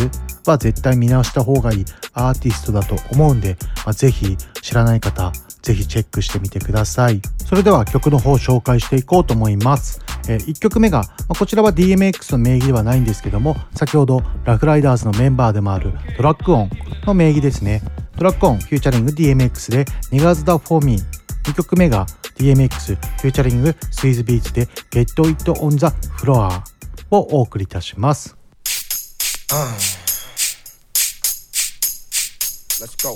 は絶対見直した方がいいアーティストだと思うんで、まあ、ぜひ知らない方ぜひチェックしてみてください。それでは曲の方を紹介していこうと思います。えー、いっきょくめが、まあ、こちらは ディーエムエックス の名義ではないんですけども、先ほどラフライダーズのメンバーでもあるドラッグオンの名義ですね。ドラッグオンフューチャリング ディーエムエックス で Niggas Da For Me、 にきょくめが ディーエムエックス フューチャリング スイズビーツで Get It On The Floor をお送りいたします。 Uh, let's go.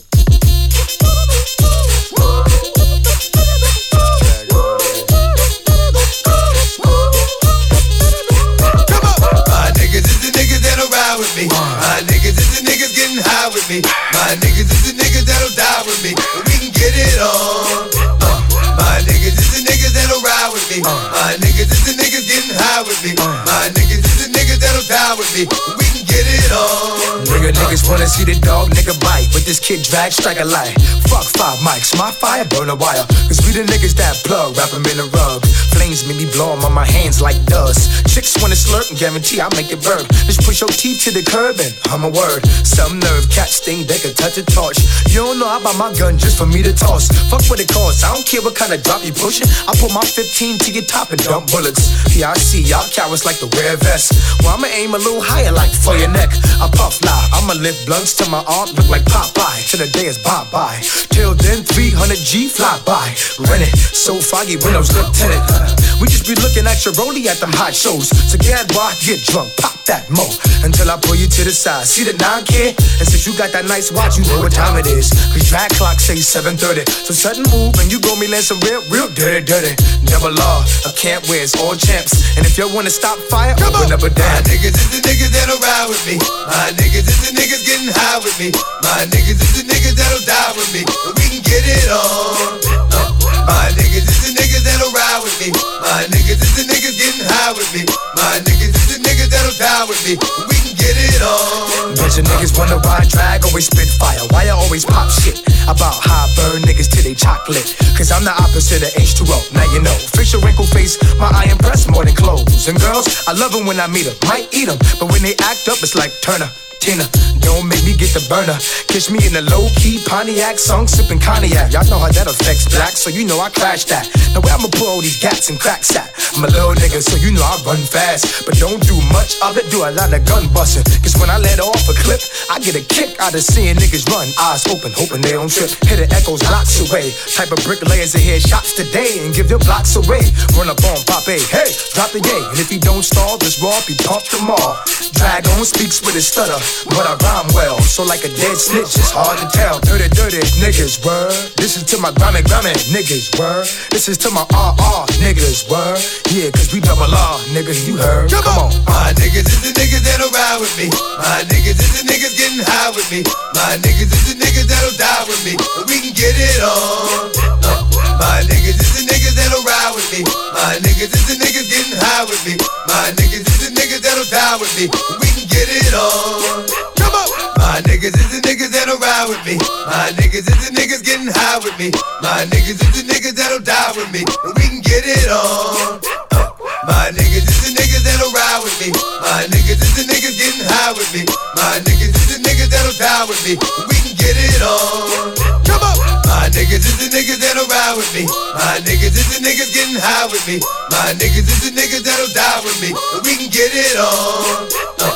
Come on. My niggas is the niggas that'll ride with me. My niggas is the niggas getting high with me. My niggas is the niggas that'll die with me. We can get it on. Uh, my niggas is the niggas that'll ride with me. My niggas is the niggas getting high with me. My niggas is the niggas that'll die with me. We can get it on. Nigga niggas wanna see the dog nigga bite, but this kid drag strike a light. Fuck five mics, my fire burn a wire. Cause we the niggas that plug, wrap 'em in a rug. Flames make me blow 'em on my hands like dust. Chicks wanna slurp and guarantee I'll make it burn. Just push your teeth to the curb and hum a word. Some nerve cats think they can touch a torch. You don't know I buy my gun just for me to toss. Fuck what it costs, I don't care what kind of drop you pushing. I put my fifteen to your top and dump bullets. Yeah, I see y'all cowards like to wear a vest. Well, I'ma aim a little higher like for your neck. I puff lie, I'ma lift blunts till my arm look like Popeye. Till the day is bye-bye. Till then, three hundred G fly by. Rent it, so foggy windows, lieutenant. We just be looking at your rollie at them hot shows. So get boy, get drunk, pop that mo. Until I pull you to the side. See the nine kid? And since you got that nice watch, you know what time it is. Cause drag clock say seven thirty. So sudden move and you gon' me land some real, real dirty, dirty. Double law, I can't wear it's all champs. And if you wanna stop fire, come open on. Up a damn. My niggas is the niggas that'll ride with me. My niggas is the niggas getting high with me. My niggas is the niggas that'll die with me. And we can get it on. Uh, my niggas is the niggas that'll ride with me. My niggas is the niggas getting high with me. My niggas is the niggas that'll die with me. And we can get it on. Bunch of niggas wanna ride drag, always spit fire. Why I always pop shit about how I burn niggas till they chocolate? Cause I'm the opposite of H two O, now you know. Facial wrinkle face, my eye impress more than clothes. And girls, I love them when I meet them, might eat them. But when they act up, it's like Turner, Tina, don't make me get the burner. Kiss me in a low-key Pontiac, song sipping cognac. Y'all know how that affects black, so you know I crash that. Now where I'ma pull all these gats and cracks at? I'm a little nigga, so you know I run fast. But don't do much of it, do a lot of gun busting. Cause when I let off a clip, I get a kick out of seeing niggas run. Eyes open, hoping they don't trip. Hit the echoes blocks away. Type of bricklayers that hear shots today and give their blocks away. Run up on Pop A, hey, drop the yay. And if he don't stall, this raw be pumped them all. Drag on speaks with his stutter, but I rhyme well, so like a dead snitch, it's hard to tell. Dirty, dirty niggas, word. This is to my Grammy, Grammy niggas, word. This is to my R R niggas, word. Yeah, cause we double R, niggas, you heard. Come, Come on. My niggas is the niggas that'll ride with me. My niggas is the niggas getting high with me. My niggas is the niggas that'll die with me. And we can get it on. Uh, my niggas is the niggas that'll ride with me. My niggas is the niggas getting high with me. My niggas is the niggas that'll die with me. And we can get it on. Come on. My niggas is the niggas that'll ride with me. My niggas is the niggas getting high with me. My niggas is the niggas that'll die with me. And we can get it on. Uh, my niggas is the niggas that'll ride with me. My niggas is the niggas getting high with me. My niggas is the niggas that'll die with me. And we can get it on. Come on. My niggas is the niggas that'll ride with me. My niggas is the niggas getting high with me. My niggas is the niggas that'll die with me. And we can get it on. Uh,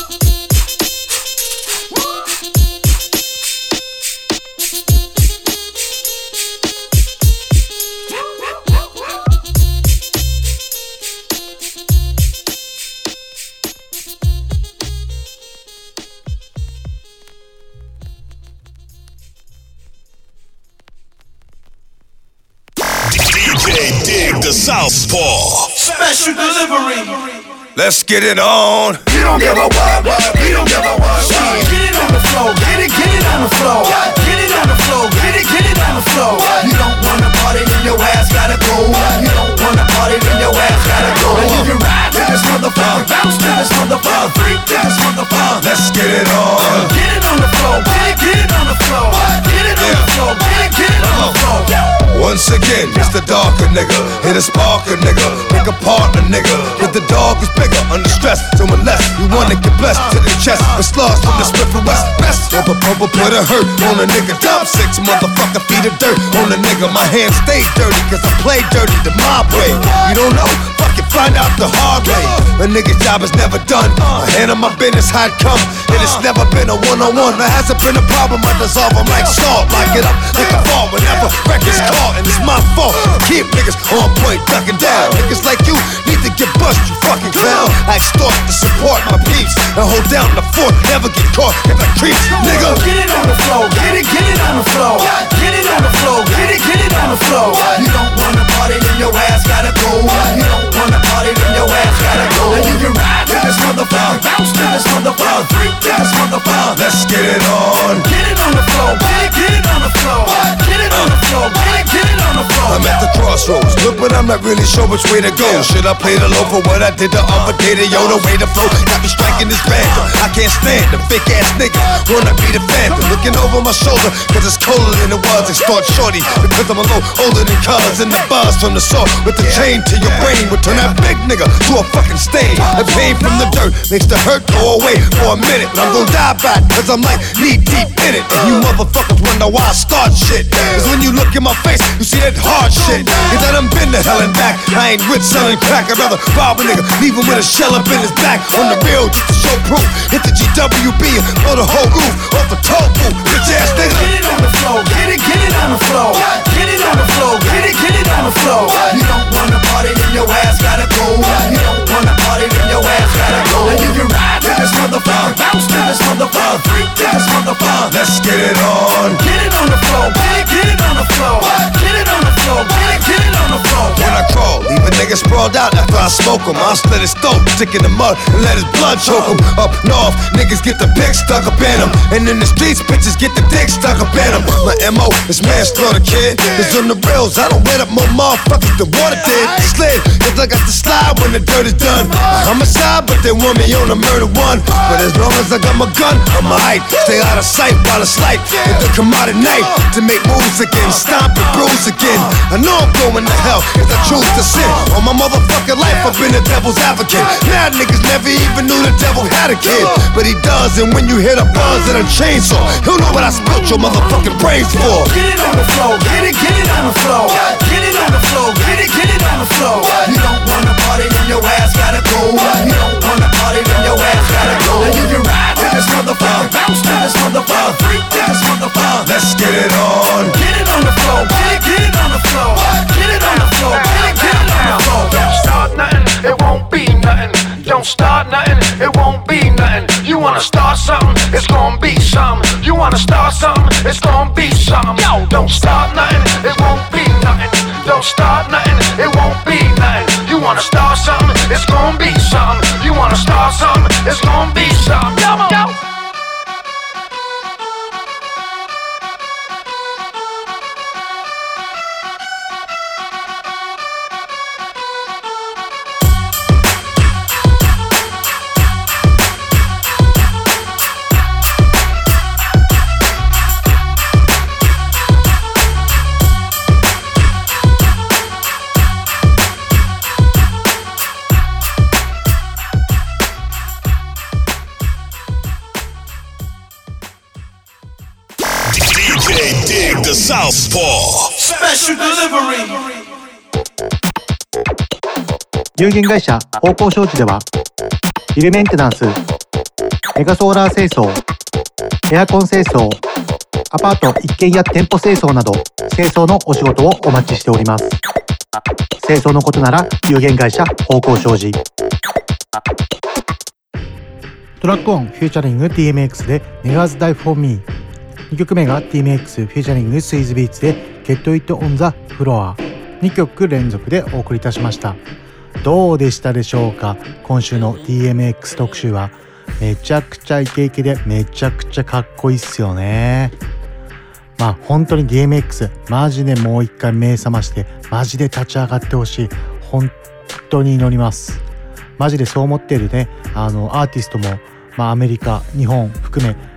Dig the Southpaw Special delivery. Let's get it on. You don't give a what, we don't give a what. Get it on the floor, get it, get it on the floor. Get it on the floor, get it, get it on the floor. You don't wanna party, then your ass gotta go. You don't wanna party, then your ass gotta go. And you can ride to this motherfucker, bounce to this motherfucker, freak to this motherfucker. Let's get it on. Get it on the floor, get it, get it on the floor. Get it on the floor, get it, get it on the floor. Once once again, it's the darker nigga. Hit a sparker nigga, pick apart a nigga. But the dog is bigger, under stress. So unless you wanna get blessed to the chest, with slugs from the Smith and West. Best of a purple put a hurt on a nigga. Top six motherfucker feet of dirt on a nigga. My hands stay dirty cause I play dirty the mob way. You don't know? Fuck it, find out the hard way. A nigga's job is never done. I handle my business how it come. And it's never been a one-on-one. There hasn't been a problem, I dissolve them like salt. Lock it up like a fall whenever records caught. And it's my fault to keep niggas on point, ducking down. Niggas like you need to get bust, you fucking clown. I extort to support my peeps and hold down the fort. Never get caught if I creeps, nigga. Get it on the floor, get it, get it on the floor. Get it on the floor, get it, get it on the floor. You don't wanna party, then your ass gotta go. You don't wanna party, then your ass gotta go. And you can ride to this motherfucker, bounce to this motherfucker, freak to this motherfucker. Let's get it on. Get it on the floor, get it, get it on the floor. Get it on the floor, get it, get it on the floor. I'm at the crossroads, look, but I'm not really sure which way to go. Should I play the low for what I did the other day? The yo, the way to flow, got me striking this random. I can't stand the fake ass nigga, wanna be the phantom. Looking over my shoulder, cause it's colder than it was. Extort shorty, because I'm a little older than cuz. And the buzz from the saw with the chain to your brain would turn that big nigga to a fucking stain. The pain from the dirt makes the hurt go away for a minute. But I'm gonna die by it, cause I'm like knee deep in it. And you motherfuckers wonder why I start shit. Cause when you look in my face, you see that hard shit. Cause I done been to hell and back. I ain't with selling crack, I'd rather rob a nigga, leave him with a shell up in his back. On the real, just to show proof. Hit the G W B and blow the whole roof off the toe booth. Bitch ass nigga. Get it on the floor, get it, get it on the floor. Get it on the floor, get it, get it on the floor. You don't wanna party, then your ass gotta go. You don't wanna party, then your ass gotta go. And you can ride to this motherfucker, bounce to this motherfucker, freak to this motherfucker. Let's get it on. Get it on the floor, get it, get it on the floor. Get it on the floor, get it, get it on the floor. When I crawl, leave a nigga sprawled out after I smoke him. I'll slit his throat, stick in the mud, and let his blood choke him. Up north, niggas get the pick stuck up in him. And in the streets, bitches get the dick stuck up in him. My M O is manslaughter, kid. Cause on the rails, I don't wet up more motherfuckers than water did. Slid, cause I got the slide when the dirt is done. I'm a side, but they want me on a murder one. But as long as I got my gun, I'm alright. Stay out of sight while it's light. If they come out at night to make moves again, stomp and bruise again. I know I'm going to hell if I choose to sin. All my motherfucking life, I've been a devil's advocate. Now niggas never even knew the devil had a kid. But he does, and when you hear the buzz and a chainsaw, he'll know what I spilt your motherfucking brains for. Get it on the floor, get it, get it on the floor. Get it on the floor, get it, get it on the floor. You don't wanna party, then your ass gotta go. You don't wanna party, then your ass gotta go. And you can ride to this motherfucker, bounce to this motherfucker, freak to this motherfucker. Let's get it on. Get it on the floor, get it, get it on the floor. Get it on the floor, get it, get it on the floor. Don't start nothing, it won't be nothing. Don't start nothing, it won't be nothing. You wanna start something, it's gonna be something. You wanna start something, it's gonna be something. Yo, don't start nothing, it won't be nothing. Don't start nothing, it won't be nothing. You wanna start something, it's gonna be something. You wanna start something, it's gonna be something. Yo, yo. The Southpaw Special Delivery。 有限会社方向商事ではビルメンテナンス、メガソーラー清掃、エアコン清掃、アパート一軒や店舗清掃など清掃のお仕事をお待ちしております。清掃のことなら有限会社方向商事。トラックオンフューチャリング ティーエムエックス で Niggas Die For Me、 にきょくめが ティーエムエックス フューチャリングスイズビーツで Get It On The Floor、 にきょく連続でお送りいたしました。どうでしたでしょうか。今週の ティーエムエックス 特集はめちゃくちゃイケイケでめちゃくちゃかっこいいっすよね。まあ本当に ディーエムエックス マジでもう一回目覚ましてマジで立ち上がってほしい。本当に祈ります。マジでそう思っているね、あのアーティストも、まあ、アメリカ日本含め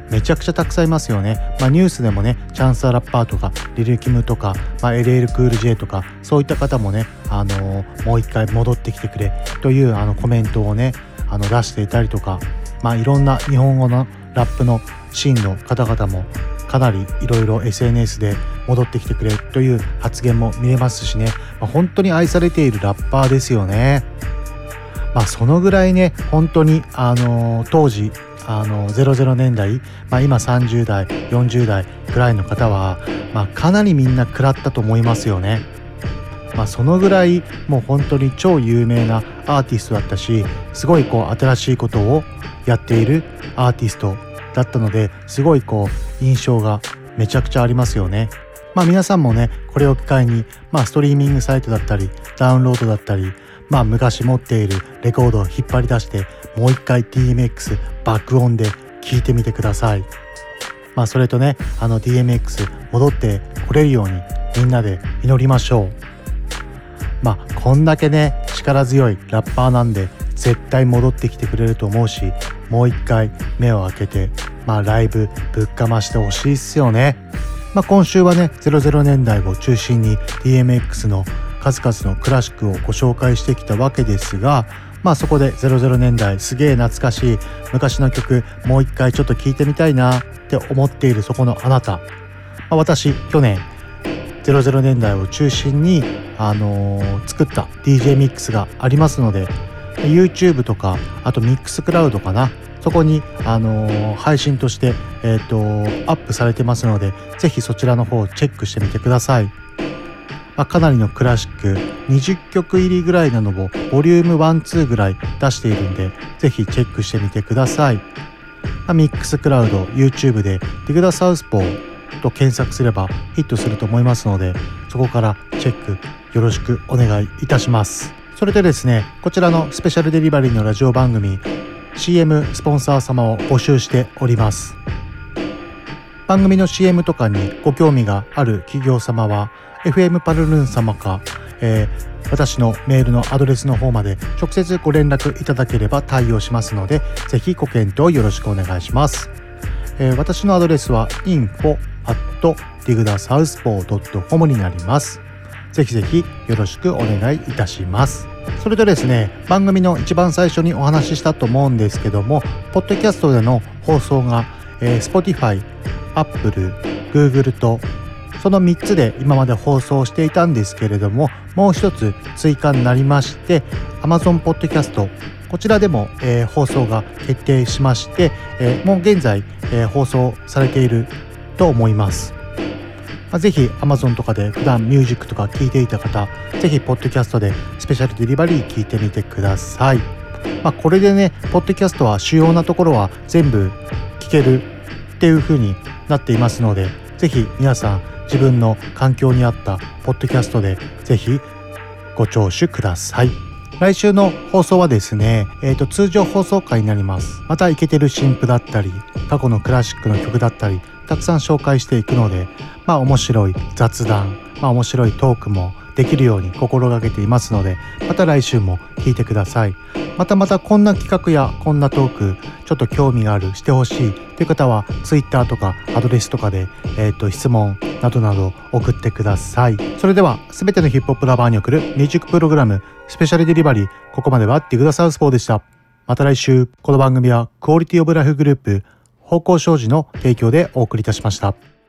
めちゃくちゃたくさんいますよね。まあ、ニュースでもねチャンスアラッパーとかリルキムとか、まあ、エルエル クール J とかそういった方もね、あのー、もう一回戻ってきてくれというあのコメントをねあの出していたりとか、まあ、いろんな日本語のラップのシーンの方々もかなりいろいろ エスエヌエス で戻ってきてくれという発言も見れますしね、まあ、本当に愛されているラッパーですよね。まあ、そのぐらいね本当に、あのー、当時あのゼロゼロねんだい、まあ、今さんじゅうだいよんじゅうだいぐらいの方は、まあ、かなりみんな食らったと思いますよね。まあ、そのぐらいもう本当に超有名なアーティストだったし、すごいこう新しいことをやっているアーティストだったので、すごいこう印象がめちゃくちゃありますよね。まあ皆さんもねこれを機会に、まあ、ストリーミングサイトだったりダウンロードだったり、まあ昔持っているレコードを引っ張り出してもう一回 ディーエムエックス 爆音で聴いてみてください。まあそれとねあの ディーエムエックス 戻ってこれるようにみんなで祈りましょう。まあこんだけね力強いラッパーなんで絶対戻ってきてくれると思うし、もう一回目を開けてまあライブぶっかましてほしいっすよね。まあ今週はねゼロゼロねんだいを中心に ディーエムエックス の数々のクラシックをご紹介してきたわけですが、まあそこでゼロゼロねんだいすげえ懐かしい昔の曲もう一回ちょっと聴いてみたいなって思っているそこのあなた、まあ、私去年ゼロゼロねんだいを中心に、あのー、作った ディージェー ミックスがありますので YouTube とかあと Mixcloud かな、そこに、あのー、配信として、えーと、アップされてますのでぜひそちらの方をチェックしてみてください。まあ、かなりのクラシックにじゅっきょく入りぐらいなのをボリュームいち、にぐらい出しているんでぜひチェックしてみてください。まあ、Mixcloud、YouTube でディグダサウスポーと検索すればヒットすると思いますので、そこからチェックよろしくお願いいたします。それでですね、こちらのスペシャルデリバリーのラジオ番組 シーエム スポンサー様を募集しております。番組の シーエム とかにご興味がある企業様は エフエム パルルン様か、えー、私のメールのアドレスの方まで直接ご連絡いただければ対応しますので、ぜひご検討よろしくお願いします。えー、私のアドレスは インフォ アット ディグダサウスポー ドット コム になります。ぜひぜひよろしくお願いいたします。それとですね、番組の一番最初にお話ししたと思うんですけども、ポッドキャストでの放送が、えー、Spotify、Apple、Google とそのみっつで今まで放送していたんですけれども、もう一つ追加になりまして Amazon Podcast、 こちらでも、えー、放送が決定しまして、えー、もう現在、えー、放送されていると思います。まあ、ぜひ Amazon とかで普段ミュージックとか聴いていた方、ぜひポッドキャストでスペシャルデリバリー聴いてみてください。まあ、これでね、ポッドキャストは主要なところは全部聴けるっていう風になっていますので、ぜひ皆さん自分の環境に合ったポッドキャストでぜひご聴取ください。来週の放送はですね、えーと、通常放送回になります。またイケてる新譜だったり、過去のクラシックの曲だったり、たくさん紹介していくので、まあ面白い雑談、まあ面白いトークもできるように心がけていますので、また来週も聞いてください。またまたこんな企画やこんなトークちょっと興味がある、してほしいという方は Twitter とかアドレスとかで、えー、と質問などなど送ってください。それではすべてのヒップホップラバーに送るミュージックプログラムスペシャルデリバリー、ここまではディグダサウスポーでした。また来週。この番組はクオリティオブライフグループ方向障子の提供でお送りいたしました。